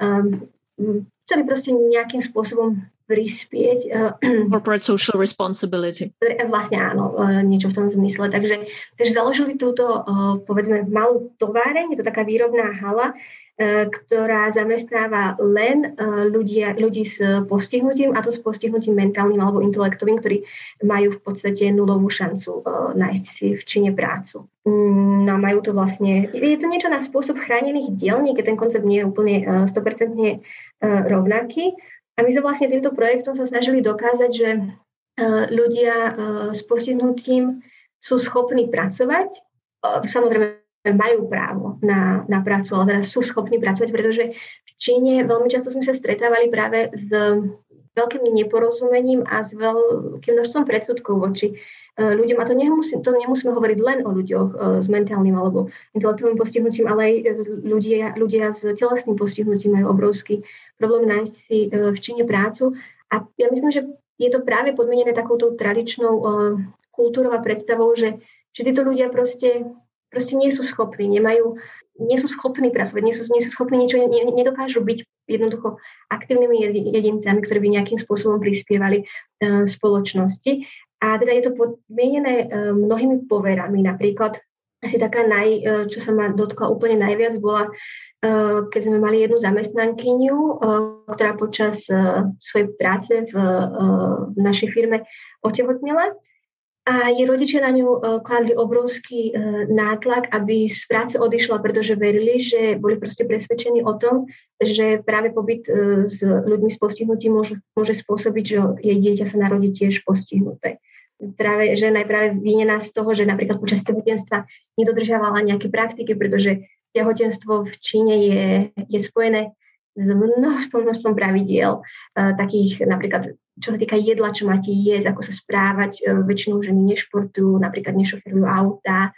proste nejakým spôsobom prispieť. Corporate social responsibility. Vlastne áno, niečo v tom zmysle. Takže založili túto, povedzme, malú továreň, je to taká výrobná hala, ktorá zamestnáva len ľudí s postihnutím, a to s postihnutím mentálnym alebo intelektovým, ktorí majú v podstate nulovú šancu nájsť si v Číne prácu. No majú to vlastne, je to niečo na spôsob chránených dielní, keď ten koncept nie je úplne 100% rovnaký. A my sa vlastne týmto projektom sa snažili dokázať, že ľudia s postihnutím sú schopní pracovať. Samozrejme, majú právo na prácu, ale teda sú schopní pracovať, pretože v Číne veľmi často sme sa stretávali práve s veľkým neporozumením a s veľkým množstvom predsudkov voči ľuďom. A to nemusíme hovoriť len o ľuďoch s mentálnym alebo intelektovým postihnutím, ale aj ľudia s telesným postihnutím majú obrovský problém nájsť si v Číne prácu. A ja myslím, že je to práve podmienené takouto tradičnou kultúrou a predstavou, že títo ľudia proste nie sú schopní, nie sú schopní pracovať, nie sú schopní niečo, nedokážu byť jednoducho aktívnymi jedincami, ktorí by nejakým spôsobom prispievali spoločnosti. A teda je to podmienené mnohými poverami. Napríklad asi taká čo sa ma dotkla úplne najviac, bola, keď sme mali jednu zamestnankyňu, ktorá počas svojej práce v našej firme otehotnela. A jej rodičia na ňu kladli obrovský nátlak, aby z práce odišla, pretože verili, že boli proste presvedčení o tom, že práve pobyt s ľuďmi s postihnutím môže spôsobiť, že jej dieťa sa narodí tiež postihnuté. Práve žena je práve vinená z toho, že napríklad počas tehotenstva nedodržiavala nejaké praktiky, pretože tehotenstvo v Číne je spojené s množstvom pravidiel, takých napríklad, čo sa týka jedla, čo máte jesť, ako sa správať. Väčšinou ženy nešportujú, napríklad nešoferujú auta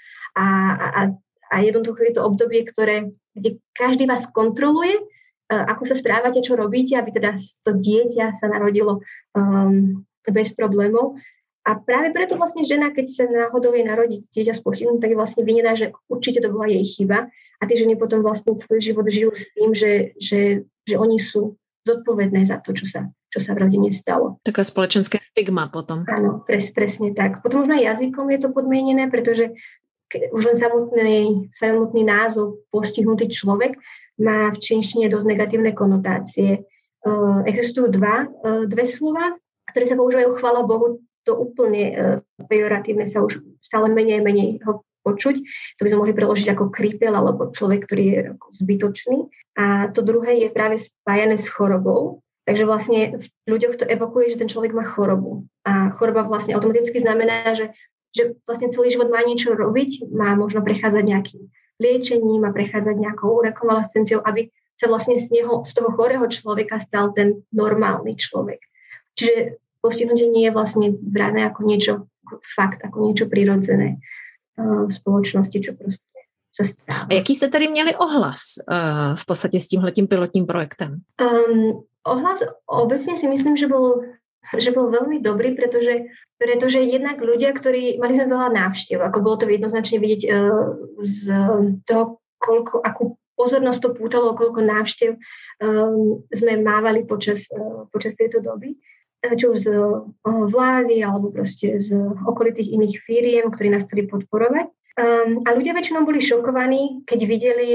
a jednoducho je to obdobie, kde každý vás kontroluje, ako sa správate, čo robíte, aby teda to dieťa sa narodilo bez problémov. A práve preto vlastne žena, keď sa náhodou jej narodí dieťa s postihnutím, tak je vlastne vinená, že určite to bola jej chyba. A tie ženy potom vlastne celý život žijú s tým, že oni sú zodpovedné za to, čo sa v rodine stalo. Taká spoločenské stigma potom. Áno, presne tak. Potom možno jazykom je to podmienené, pretože už len samotný názov postihnutý človek má v čínštine dosť negatívne konotácie. Existujú dve slova, ktoré sa používajú, chvála Bohu, to úplne pejoratívne sa už stále menej ho počuť. To by sme mohli preložiť ako krípel alebo človek, ktorý je zbytočný. A to druhé je práve spájané s chorobou. Takže vlastne v ľuďoch to evokuje, že ten človek má chorobu. A choroba vlastne automaticky znamená, že vlastne celý život má niečo robiť, má možno prechádzať nejakým liečením, má prechádzať nejakou rekonvalescenciou, aby sa vlastne z toho chorého človeka stal ten normálny človek. Čiže postihnutie nie je vlastne brané ako niečo, ako niečo prirodzené v spoločnosti, čo proste sa stáva. A jaký jste tady měli ohlas v podstatě s tímhletím pilotním projektem? Ohlas obecne si myslím, že bol veľmi dobrý, pretože jednak ľudia, ktorí mali sme veľa návštev, ako bolo to jednoznačne vidieť z toho, akú pozornosť to pútalo, koľko návštev sme mávali počas tejto doby, či už z vlády alebo proste z okolitých iných firiem, ktorí nás chceli podporovať. A ľudia väčšinou boli šokovaní, keď videli,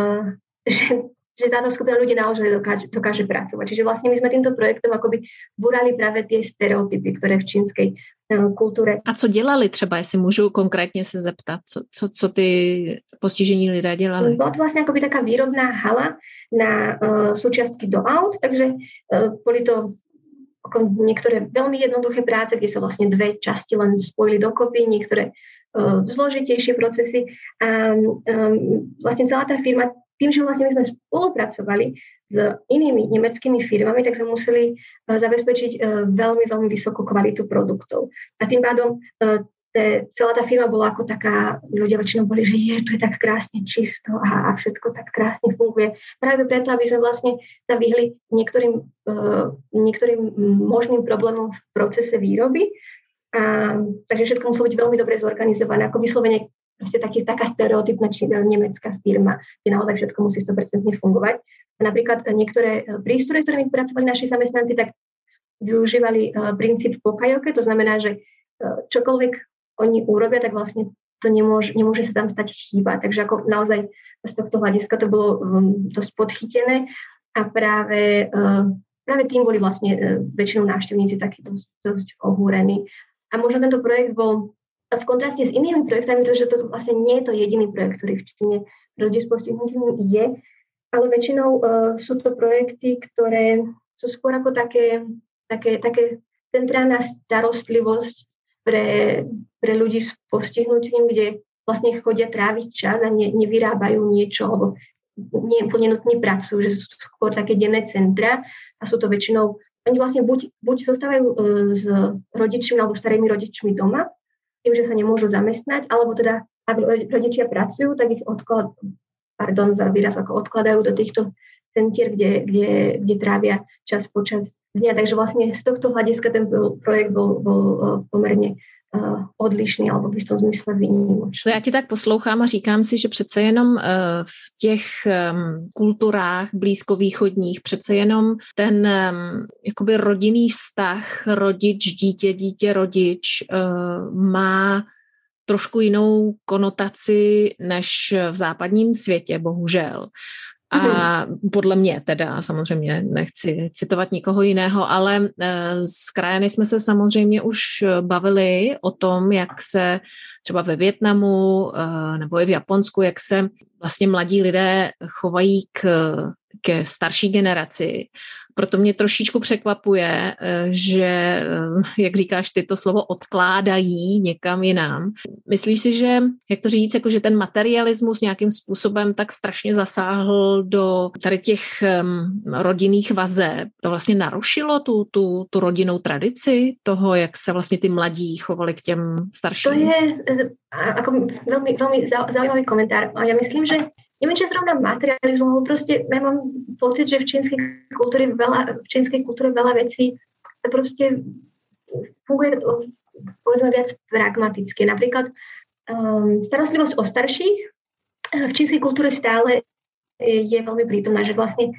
že táto skupina ľudí naozaj dokáže pracovať. Čiže vlastne my sme týmto projektom akoby burali práve tie stereotypy, ktoré v čínskej kultúre. A co dělali třeba, jestli můžu konkrétně se zeptat, co ty postižení lidé dělali? Bola to vlastne akoby taká výrobná hala na súčiastky do aut, takže boli to niektoré veľmi jednoduché práce, kde sa vlastne dve časti len spojili dokopy, niektoré zložitejšie procesy. A vlastne celá tá firma, tým, že vlastne my sme spolupracovali s inými nemeckými firmami, tak sme museli zabezpečiť veľmi, veľmi vysokú kvalitu produktov. A tým pádom celá tá firma bola ako taká, ľudia väčšinou boli, že tu je tak krásne čisto a všetko tak krásne funguje. Práve preto, aby sme vlastne sa vyhli niektorým možným problémom v procese výroby. Takže všetko muselo byť veľmi dobre zorganizované, ako vyslovene proste taká stereotypná nemecká firma, kde naozaj všetko musí 100% fungovať. A napríklad niektoré prístroje, ktoré mi pracovali naši zamestnanci, tak využívali princíp pokajoke, to znamená, že čokoľvek oni urobia, tak vlastne to nemôže sa tam stať chyba. Takže ako naozaj z tohto hľadiska to bolo dosť podchytené a práve tým boli vlastne väčšinou návštevníci takí dosť ohúrení. A možno tento projekt bol v kontraste s inými projektami, pretože to vlastne nie je to jediný projekt, ktorý v Číne ľudí s postihnutím je, ale väčšinou sú to projekty, ktoré sú skôr ako také centrálna starostlivosť pre ľudí s postihnutím, kde vlastne chodia tráviť čas a nevyrábajú niečo, alebo nie úplne nutne pracujú, že sú skôr také denné centra a sú to väčšinou, oni vlastne buď zostávajú s rodičmi alebo starými rodičmi doma, tým, že sa nemôžu zamestnať, alebo teda, ak rodičia pracujú, tak ich odkladajú do týchto centier, kde trávia čas počas dňa. Takže vlastne z tohto hľadiska ten projekt bol pomerne odlišný, alebo v istom zmysle výnimočný. Já ti tak poslouchám a říkám si, že přece jenom v těch kulturách blízkovýchodních přece jenom ten jakoby rodinný vztah rodič, dítě, rodič má trošku jinou konotaci než v západním světě, bohužel. A podle mě teda, samozřejmě nechci citovat nikoho jiného, ale s krajany jsme se samozřejmě už bavili o tom, jak se třeba ve Vietnamu nebo i v Japonsku, jak se vlastně mladí lidé chovají ke starší generaci. Proto mě trošičku překvapuje, že, jak říkáš ty, to slovo odkládají někam jinam. Myslíš si, že, jak to říct, jako že ten materialismus nějakým způsobem tak strašně zasáhl do tady těch rodinných vazeb? To vlastně narušilo tu rodinnou tradici toho, jak se vlastně ty mladí chovali k těm starším? To je ako veľmi, veľmi zaujímavý komentár. Ja myslím, že neviem, či zrovna materializmu, ale proste ja mám pocit, že v čínskej kultúre veľa vecí proste funguje, povedzme, viac pragmaticky. Napríklad starostlivosť o starších v čínskej kultúre stále je veľmi prítomná, že vlastne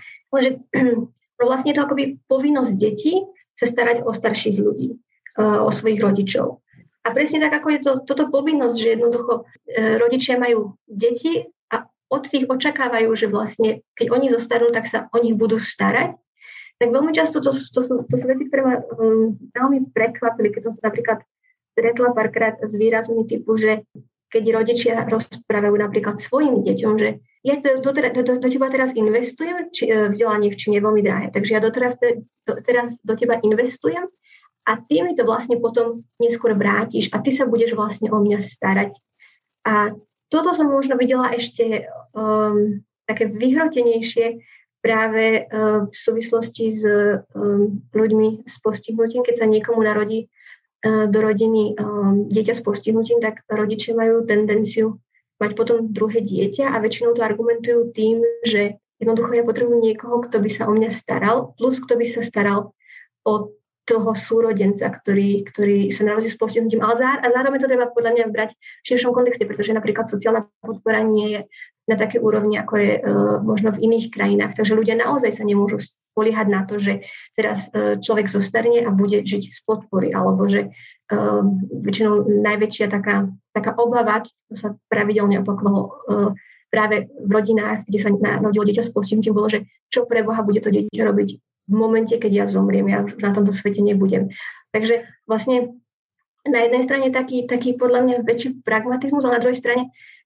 je to akoby povinnosť detí sa starať o starších ľudí, o svojich rodičov. A presne tak, ako je toto povinnosť, že jednoducho rodičia majú deti a od tých očakávajú, že vlastne, keď oni zostarnú, tak sa o nich budú starať. Tak veľmi často to sú veci, ktoré ma veľmi prekvapili, keď som sa napríklad stretla párkrát s výrazmi typu, že keď rodičia rozprávajú napríklad svojim deťom, že ja do teba teraz investujem, vzdelanie v Číne je veľmi drahé, takže ja teraz do teba investujem a ty mi to vlastne potom neskôr vrátiš a ty sa budeš vlastne o mňa starať. A toto som možno videla ešte také vyhrotenejšie práve v súvislosti s ľuďmi s postihnutím. Keď sa niekomu narodí do rodiny dieťa s postihnutím, tak rodičia majú tendenciu mať potom druhé dieťa a väčšinou to argumentujú tým, že jednoducho ja potrebujem niekoho, kto by sa o mňa staral, plus kto by sa staral o toho súrodenca, ktorý sa narodí s postihnutím. Ale zároveň to treba podľa mňa brať v širšom kontexte, pretože napríklad sociálna podpora nie je na také úrovni, ako je možno v iných krajinách. Takže ľudia naozaj sa nemôžu spoliehať na to, že teraz človek zostarne a bude žiť z podpory, alebo že väčšinou najväčšia taká obava, to sa pravidelne opakovalo práve v rodinách, kde sa narodilo dieťa s postihnutím, bolo, že čo pre Boha bude to dieťa robiť v momente, keď ja zomriem, ja už na tomto svete nebudem. Takže vlastne na jednej strane taký podľa mňa väčší pragmatizmus, ale na druhej strane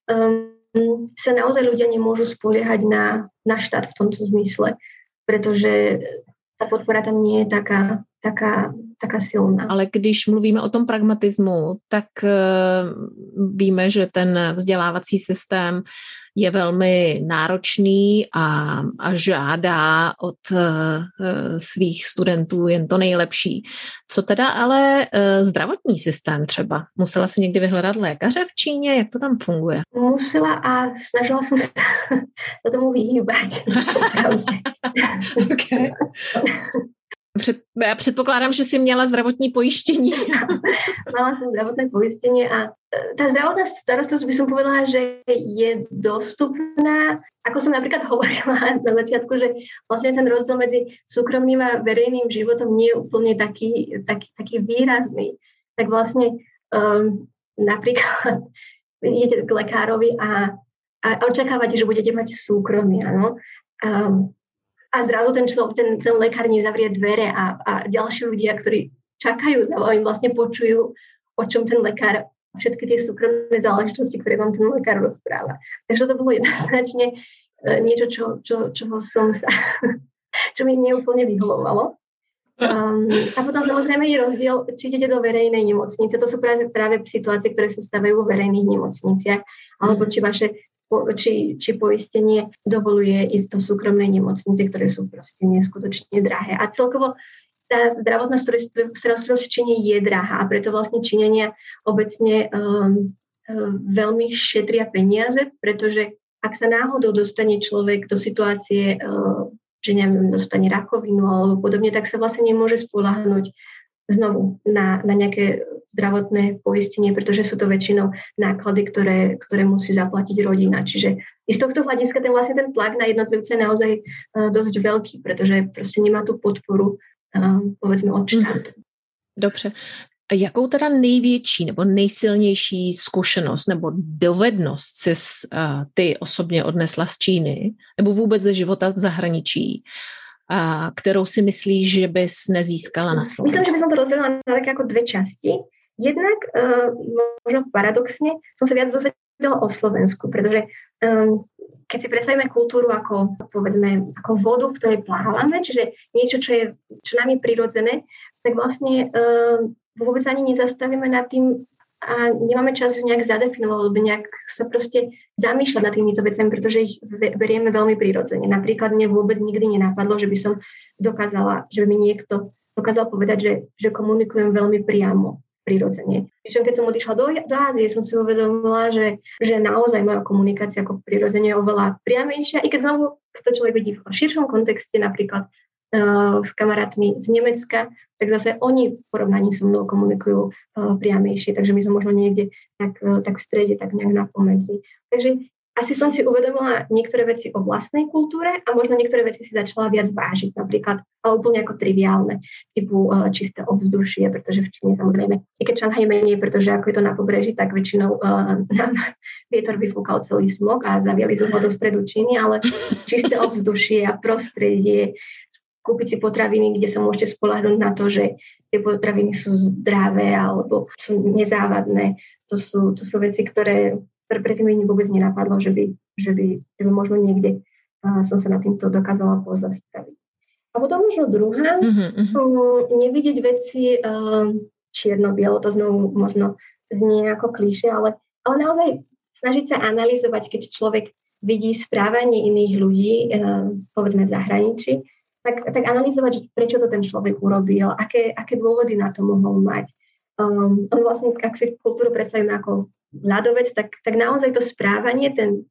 sa naozaj ľudia nemôžu spoliehať na štát v tomto zmysle, pretože ta podpora tam nie je taká silná. Ale když mluvíme o tom pragmatismu, tak víme, že ten vzdělávací systém je velmi náročný a žádá od svých studentů jen to nejlepší. Co teda ale zdravotní systém třeba? Musela si někdy vyhledat lékaře v Číně? Jak to tam funguje? Musela a snažila som sa tomu vyhýbať. Okay. Já předpokládám, že jsi měla zdravotní pojištění. Mala som zdravotné poistenie a tá zdravotná starostlivosť by som povedala, že je dostupná. Ako som napríklad hovorila na začiatku, že vlastne ten rozdiel medzi súkromným a verejným životom nie je úplne taký výrazný. Tak vlastne napríklad idete k lekárovi a očakávate, že budete mať súkromie, áno. A zrazu ten lekár nezavrie dvere a ďalší ľudia, ktorí čakajú za vami, vlastne počujú, o čom ten lekár, všetky tie súkromné záležitosti, ktoré vám ten lekár rozpráva. Takže to bolo jednoznačne niečo, čo mi neúplne vyhovovalo. A potom samozrejme je rozdiel, či idete do verejnej nemocnice. To sú práve situácie, ktoré sa stavajú vo verejných nemocniciach, alebo či poistenie dovoluje ísť do súkromnej nemocnice, ktoré sú proste neskutočne drahé. A celkovo tá zdravotná starostlivosť v Číne je drahá a preto vlastne Číňania obecne veľmi šetria peniaze, pretože ak sa náhodou dostane človek do situácie, že neviem, dostane rakovinu alebo podobne, tak sa vlastne nemôže spoľahnúť znovu na nejaké zdravotné poistenie, pretože sú to väčšinou náklady, ktoré musí zaplatiť rodina. Čiže z tohto hľadiska ten tlak na jednotlivce je naozaj dosť veľký, pretože proste nemá tú podporu, povedzme, od štátu. Dobře. A jakou teda největší nebo nejsilnější zkušenost nebo dovednost si ty osobně odnesla z Číny nebo vůbec ze života v zahraničí, kterou si myslíš, že bys nezískala na Slovensku? Myslím, že by som to rozdelila na také ako dve časti. Jednak, možno paradoxne, som sa viac dozvedela o Slovensku, pretože keď si predstavíme kultúru ako, povedzme, ako vodu, v ktorej plávame, čiže niečo, čo nám je prirodzené, tak vlastne vôbec ani nezastavíme nad tým a nemáme čas nejak zadefinovať, alebo nejak sa proste zamýšľať nad týmito vecami, pretože ich berieme veľmi prirodzene. Napríklad mne vôbec nikdy nenapadlo, že by som dokázala, že by mi niekto dokázal povedať, že komunikujem veľmi priamo, prirodzene. Keď som odišla do Ázie, som si uvedomila, že naozaj moja komunikácia ako prirodzene je oveľa priamejšia, i keď znovu to človek vidí v širšom kontexte, napríklad s kamarátmi z Nemecka, tak zase oni v porovnaní so mnou komunikujú priamejšie, takže my sme možno niekde tak v strede, tak nejak na pomedzi. Takže asi som si uvedomila niektoré veci o vlastnej kultúre a možno niektoré veci si začala viac vážiť, napríklad, ale úplne ako triviálne, typu čisté ovzdušie, pretože v Číne samozrejme, i keď Šanghaj menej, pretože ako je to na pobreží, tak väčšinou nám vietor vyfúkal celý smog a zaviali sme ho do stredu Číny, ale čisté ovzdušie a prostredie, kúpiť si potraviny, kde sa môžete spoľahnúť na to, že tie potraviny sú zdravé alebo sú nezávadné. To sú veci, ktoré predtým mi vôbec nenapadlo, že by možno niekde som sa na týmto dokázala pozastaviť. A potom možno druhá, nevidieť veci čierno-bielo, to znovu možno znie ako klišé, ale naozaj snažiť sa analyzovať, keď človek vidí správanie iných ľudí, povedzme v zahraničí, tak analyzovať, prečo to ten človek urobil, aké dôvody na to mohol mať. On vlastne, ak si kultúru predstavíme ako ľadovec, tak naozaj to správanie,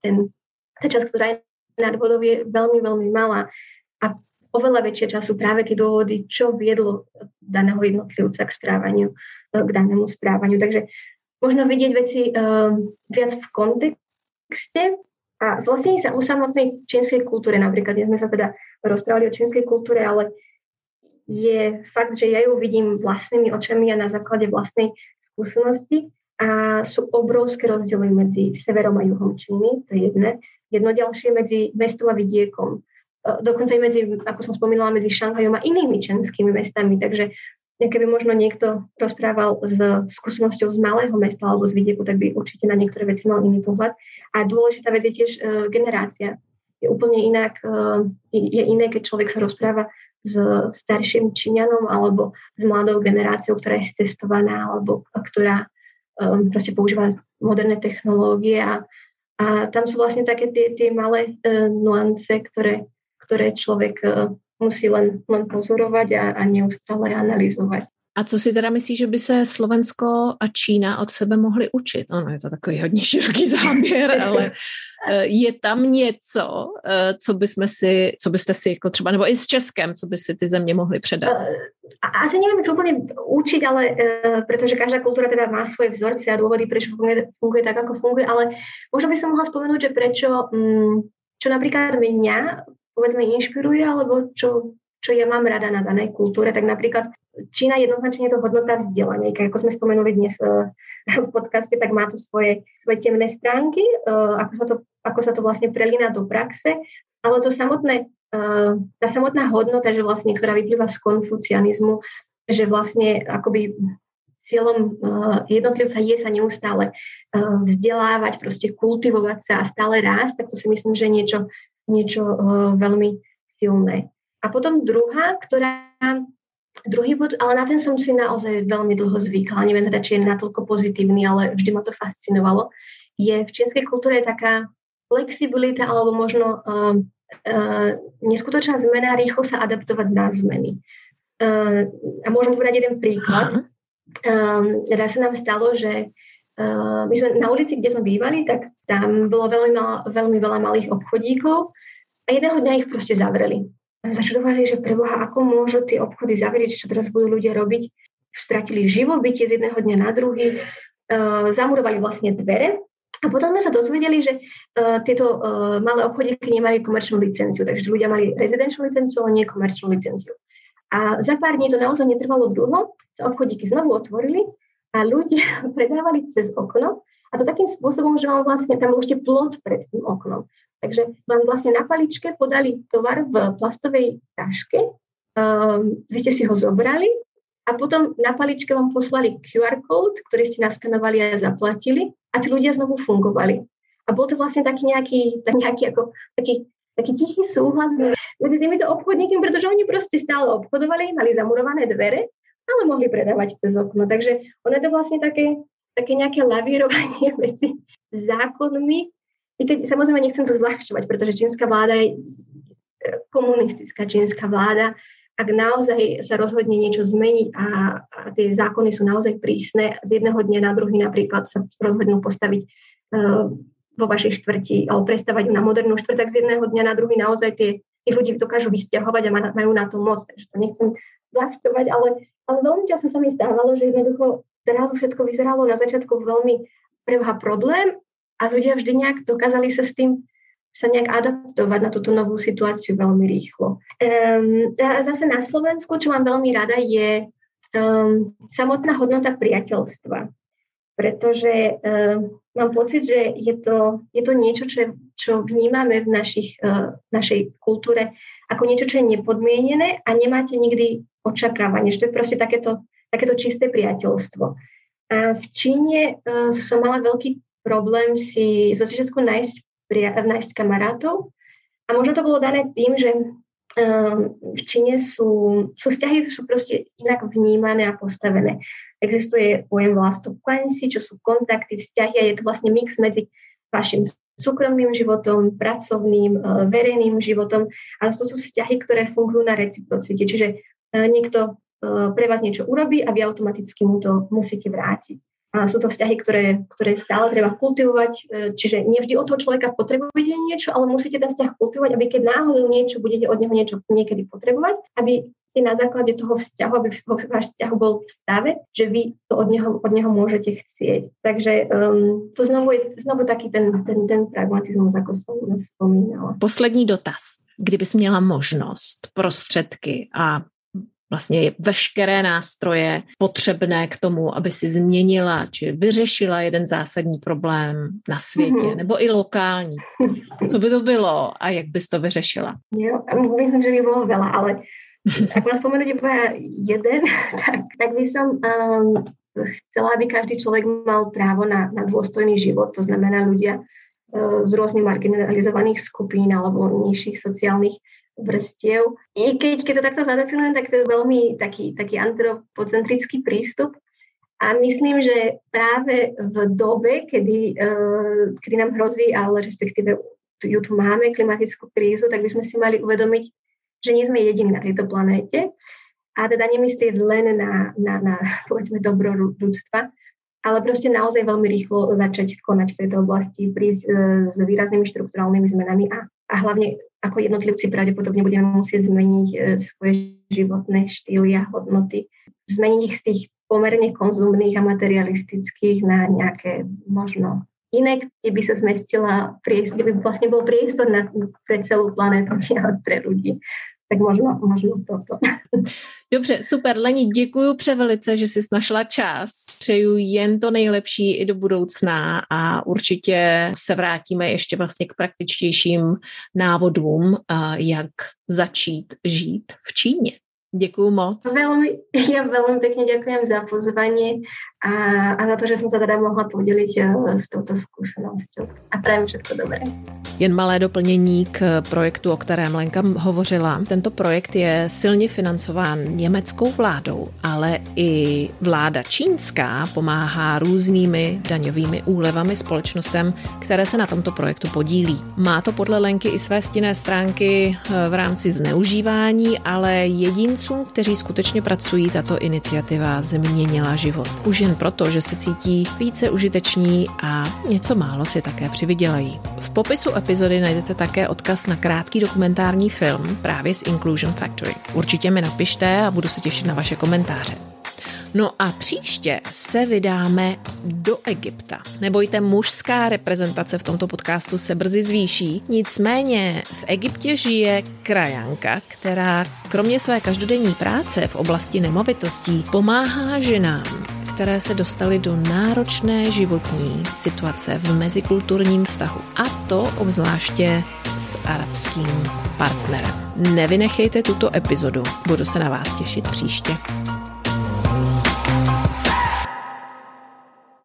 tá časť, ktorá je nad vodou, je veľmi, veľmi malá. A oveľa väčšia časť sú práve tie dôvody, čo viedlo daného jednotlivca k danému správaniu. Takže možno vidieť veci viac v kontexte a zvlastnení sa o samotnej čínskej kultúre. Napríklad, dnes sme sa teda rozprávali o čínskej kultúre, ale je fakt, že ja ju vidím vlastnými očami a na základe vlastnej skúsenosti a sú obrovské rozdiely medzi severom a juhom Číny, to je jedno ďalšie medzi mestom a vidiekom. Dokonca aj medzi, ako som spomínala, medzi Šanghajom a inými čínskymi mestami, takže keby možno niekto rozprával s skúsenosťou z malého mesta alebo z vidieku, tak by určite na niektoré veci mal iný pohľad. A dôležitá vec je tiež generácia. Je úplne iné, keď človek sa rozpráva s starším Číňanom alebo s mladou generáciou, ktorá je cestovaná alebo ktorá proste používa moderné technológie a tam sú vlastne také tie malé nuance, ktoré človek musí len pozorovať a neustále analyzovat. A co si teda myslíš, že by se Slovensko a Čína od sebe mohli učit? Ono je to takový hodně široký záběr, ale je tam něco, co byste si jako třeba, nebo i s Českem, co by si ty země mohly předat? Asi neviem, čo úplne učiť, ale pretože každá kultúra teda má svoje vzorce a dôvody, prečo funguje tak, ako funguje, ale možno by som mohla spomenúť, že prečo, čo napríklad mňa povedzme inšpiruje, alebo čo čo ja mám rada na danej kultúre, tak napríklad Čína jednoznačne je to hodnota vzdelania. Ako sme spomenuli dnes v podcaste, tak má to svoje temné stránky, ako sa to vlastne prelína do praxe, ale to samotné, tá samotná hodnota, že vlastne, ktorá vyplýva z konfucianizmu, že vlastne akoby cieľom jednotlivca je sa neustále vzdelávať, proste kultivovať sa a stále rásť, tak to si myslím, že niečo veľmi silné. A potom druhý bod, ale na ten som si naozaj veľmi dlho zvykla, neviem teda, či je natoľko pozitívny, ale vždy ma to fascinovalo, je v čínskej kultúre taká flexibilita alebo možno neskutočná zmena, rýchlo sa adaptovať na zmeny. A môžem povedať jeden príklad. Raz sa nám stalo, že my sme na ulici, kde sme bývali, tak tam bolo veľmi veľa malých obchodíkov a jedného dňa ich proste zavreli. A my začudovali, že preboha, ako môžu tie obchody zavrieť, čo teraz budú ľudia robiť. Stratili živobytie z jedného dňa na druhý, zamurovali vlastne dvere. A potom sme sa dozvedeli, že tieto malé obchodíky nemajú komerčnú licenciu, takže ľudia mali rezidenčnú licenciu, ale nie komerčnú licenciu. A za pár dní, to naozaj netrvalo dlho, sa obchodíky znovu otvorili a ľudia predávali cez okno. A to takým spôsobom, že vám vlastne tam bol ešte plot pred tým oknom. Takže vám vlastne na paličke podali tovar v plastovej taške, vy ste si ho zobrali a potom na paličke vám poslali QR kód, ktorý ste naskanovali a zaplatili a tí ľudia znovu fungovali. A bol to vlastne taký tichý súhlas medzi týmito obchodníkmi, pretože oni proste stále obchodovali, mali zamurované dvere, ale mohli predávať cez okno. Takže ono je to vlastne také nejaké lavírovanie medzi zákonmi. I keď samozrejme nechcem to zľahčovať, pretože čínska vláda je komunistická čínska vláda. Ak naozaj sa rozhodne niečo zmeniť a tie zákony sú naozaj prísne, z jedného dňa na druhý napríklad sa rozhodnú postaviť vo vašej štvrti alebo prestavať na modernú štvrť, tak z jedného dňa na druhý naozaj tých ľudí dokážu vysťahovať a majú na to moc. Takže to nechcem zľahčovať, ale veľmi často sa mi stávalo, že jednoducho zrazu všetko vyzeralo na začiatku veľmi preboha problém a ľudia vždy nejak dokázali sa s tým nejak adaptovať na túto novú situáciu veľmi rýchlo. Zase na Slovensku, čo mám veľmi rada, je samotná hodnota priateľstva. Pretože mám pocit, že je to niečo, čo vnímame v našej kultúre ako niečo, čo je nepodmienené a nemáte nikdy očakávanie, že to je proste takéto čisté priateľstvo. A v Číne som mala veľký problém si zo začiatku nájsť kamarátov a možno to bolo dané tým, že v Číne sú vzťahy sú proste inak vnímané a postavené. Existuje pojem vlastokuansi, čo sú kontakty, vzťahy a je to vlastne mix medzi vašim súkromným životom, pracovným, verejným životom a to sú vzťahy, ktoré fungujú na reciprocite. Čiže niekto pre vás niečo urobí a vy automaticky mu to musíte vrátiť. A sú to vzťahy, ktoré stále treba kultivovať, čiže nie vždy od toho človeka potrebujete niečo, ale musíte ten vzťah kultivovať, aby keď náhodou niečo budete od neho niečo niekedy potrebovať, aby si na základe toho vzťahu, aby váš vzťah bol v stave, že vy to od neho môžete chcieť. Takže to znovu taký ten pragmatizmus, ako som spomínala. Poslední dotaz. Kdybys měla možnost, prostředky a vlastně veškeré nástroje potřebné k tomu, aby si změnila či vyřešila jeden zásadní problém na světě, nebo i lokální. Co by to bylo a jak bys to vyřešila? Jo, myslím, že by bolo veľa, ale ak mám spomenúť iba jeden, tak by som chcela, aby každý človek mal právo na dôstojný život, to znamená ľudia z rôznych marginalizovaných skupín alebo nižších sociálnych vrstiev. I keď to takto zadefinujem, tak to je veľmi taký antropocentrický prístup a myslím, že práve v dobe, kedy nám hrozí, ale respektíve ju tu máme, klimatickú krízu, tak by sme si mali uvedomiť, že nie sme jediní na tejto planéte a teda nemyslieť len na povedzme dobro ľudstva, ale proste naozaj veľmi rýchlo začať konať v tejto oblasti, prísť s výraznými štrukturálnymi zmenami a hlavne ako jednotlivci pravdepodobne budeme musieť zmeniť svoje životné štýly a hodnoty. Zmeniť ich z tých pomerne konzumných a materialistických na nejaké možno iné, kde by sa zmestila, kde by vlastne bol priestor pre celú planétu, nie pre ľudí. Tak možno toto. Dobře, super. Leni, děkuju převelice, že jsi našla čas. Přeju jen to nejlepší i do budoucna a určitě se vrátíme ještě vlastně k praktičtějším návodům, jak začít žít v Číně. Děkuju moc. Ja veľmi pekne ďakujem za pozvanie a na to, že som sa teda mohla podeliť s touto skúsenosťou. A prajem všetko dobré. Jen malé doplnění k projektu, o kterém Lenka hovořila. Tento projekt je silně financován německou vládou, ale i vláda čínská pomáhá různými daňovými úlevami společnostem, které se na tomto projektu podílí. Má to podle Lenky i své stinné stránky v rámci zneužívání, ale jedincům, kteří skutečně pracují, tato iniciativa změnila život. Už jen proto, že se cítí více užiteční a něco málo si také přivydělají. V popisu epizody najdete také odkaz na krátký dokumentární film právě z Inclusion Factory. Určitě mi napište a budu se těšit na vaše komentáře. No a příště se vydáme do Egypta. Nebojte, mužská reprezentace v tomto podcastu se brzy zvýší. Nicméně v Egyptě žije krajanka, která kromě své každodenní práce v oblasti nemovitostí pomáhá ženám, které se dostaly do náročné životní situace v mezikulturním vztahu. A to obzvláště s arabským partnerem. Nevynechejte tuto epizodu, budu se na vás těšit příště.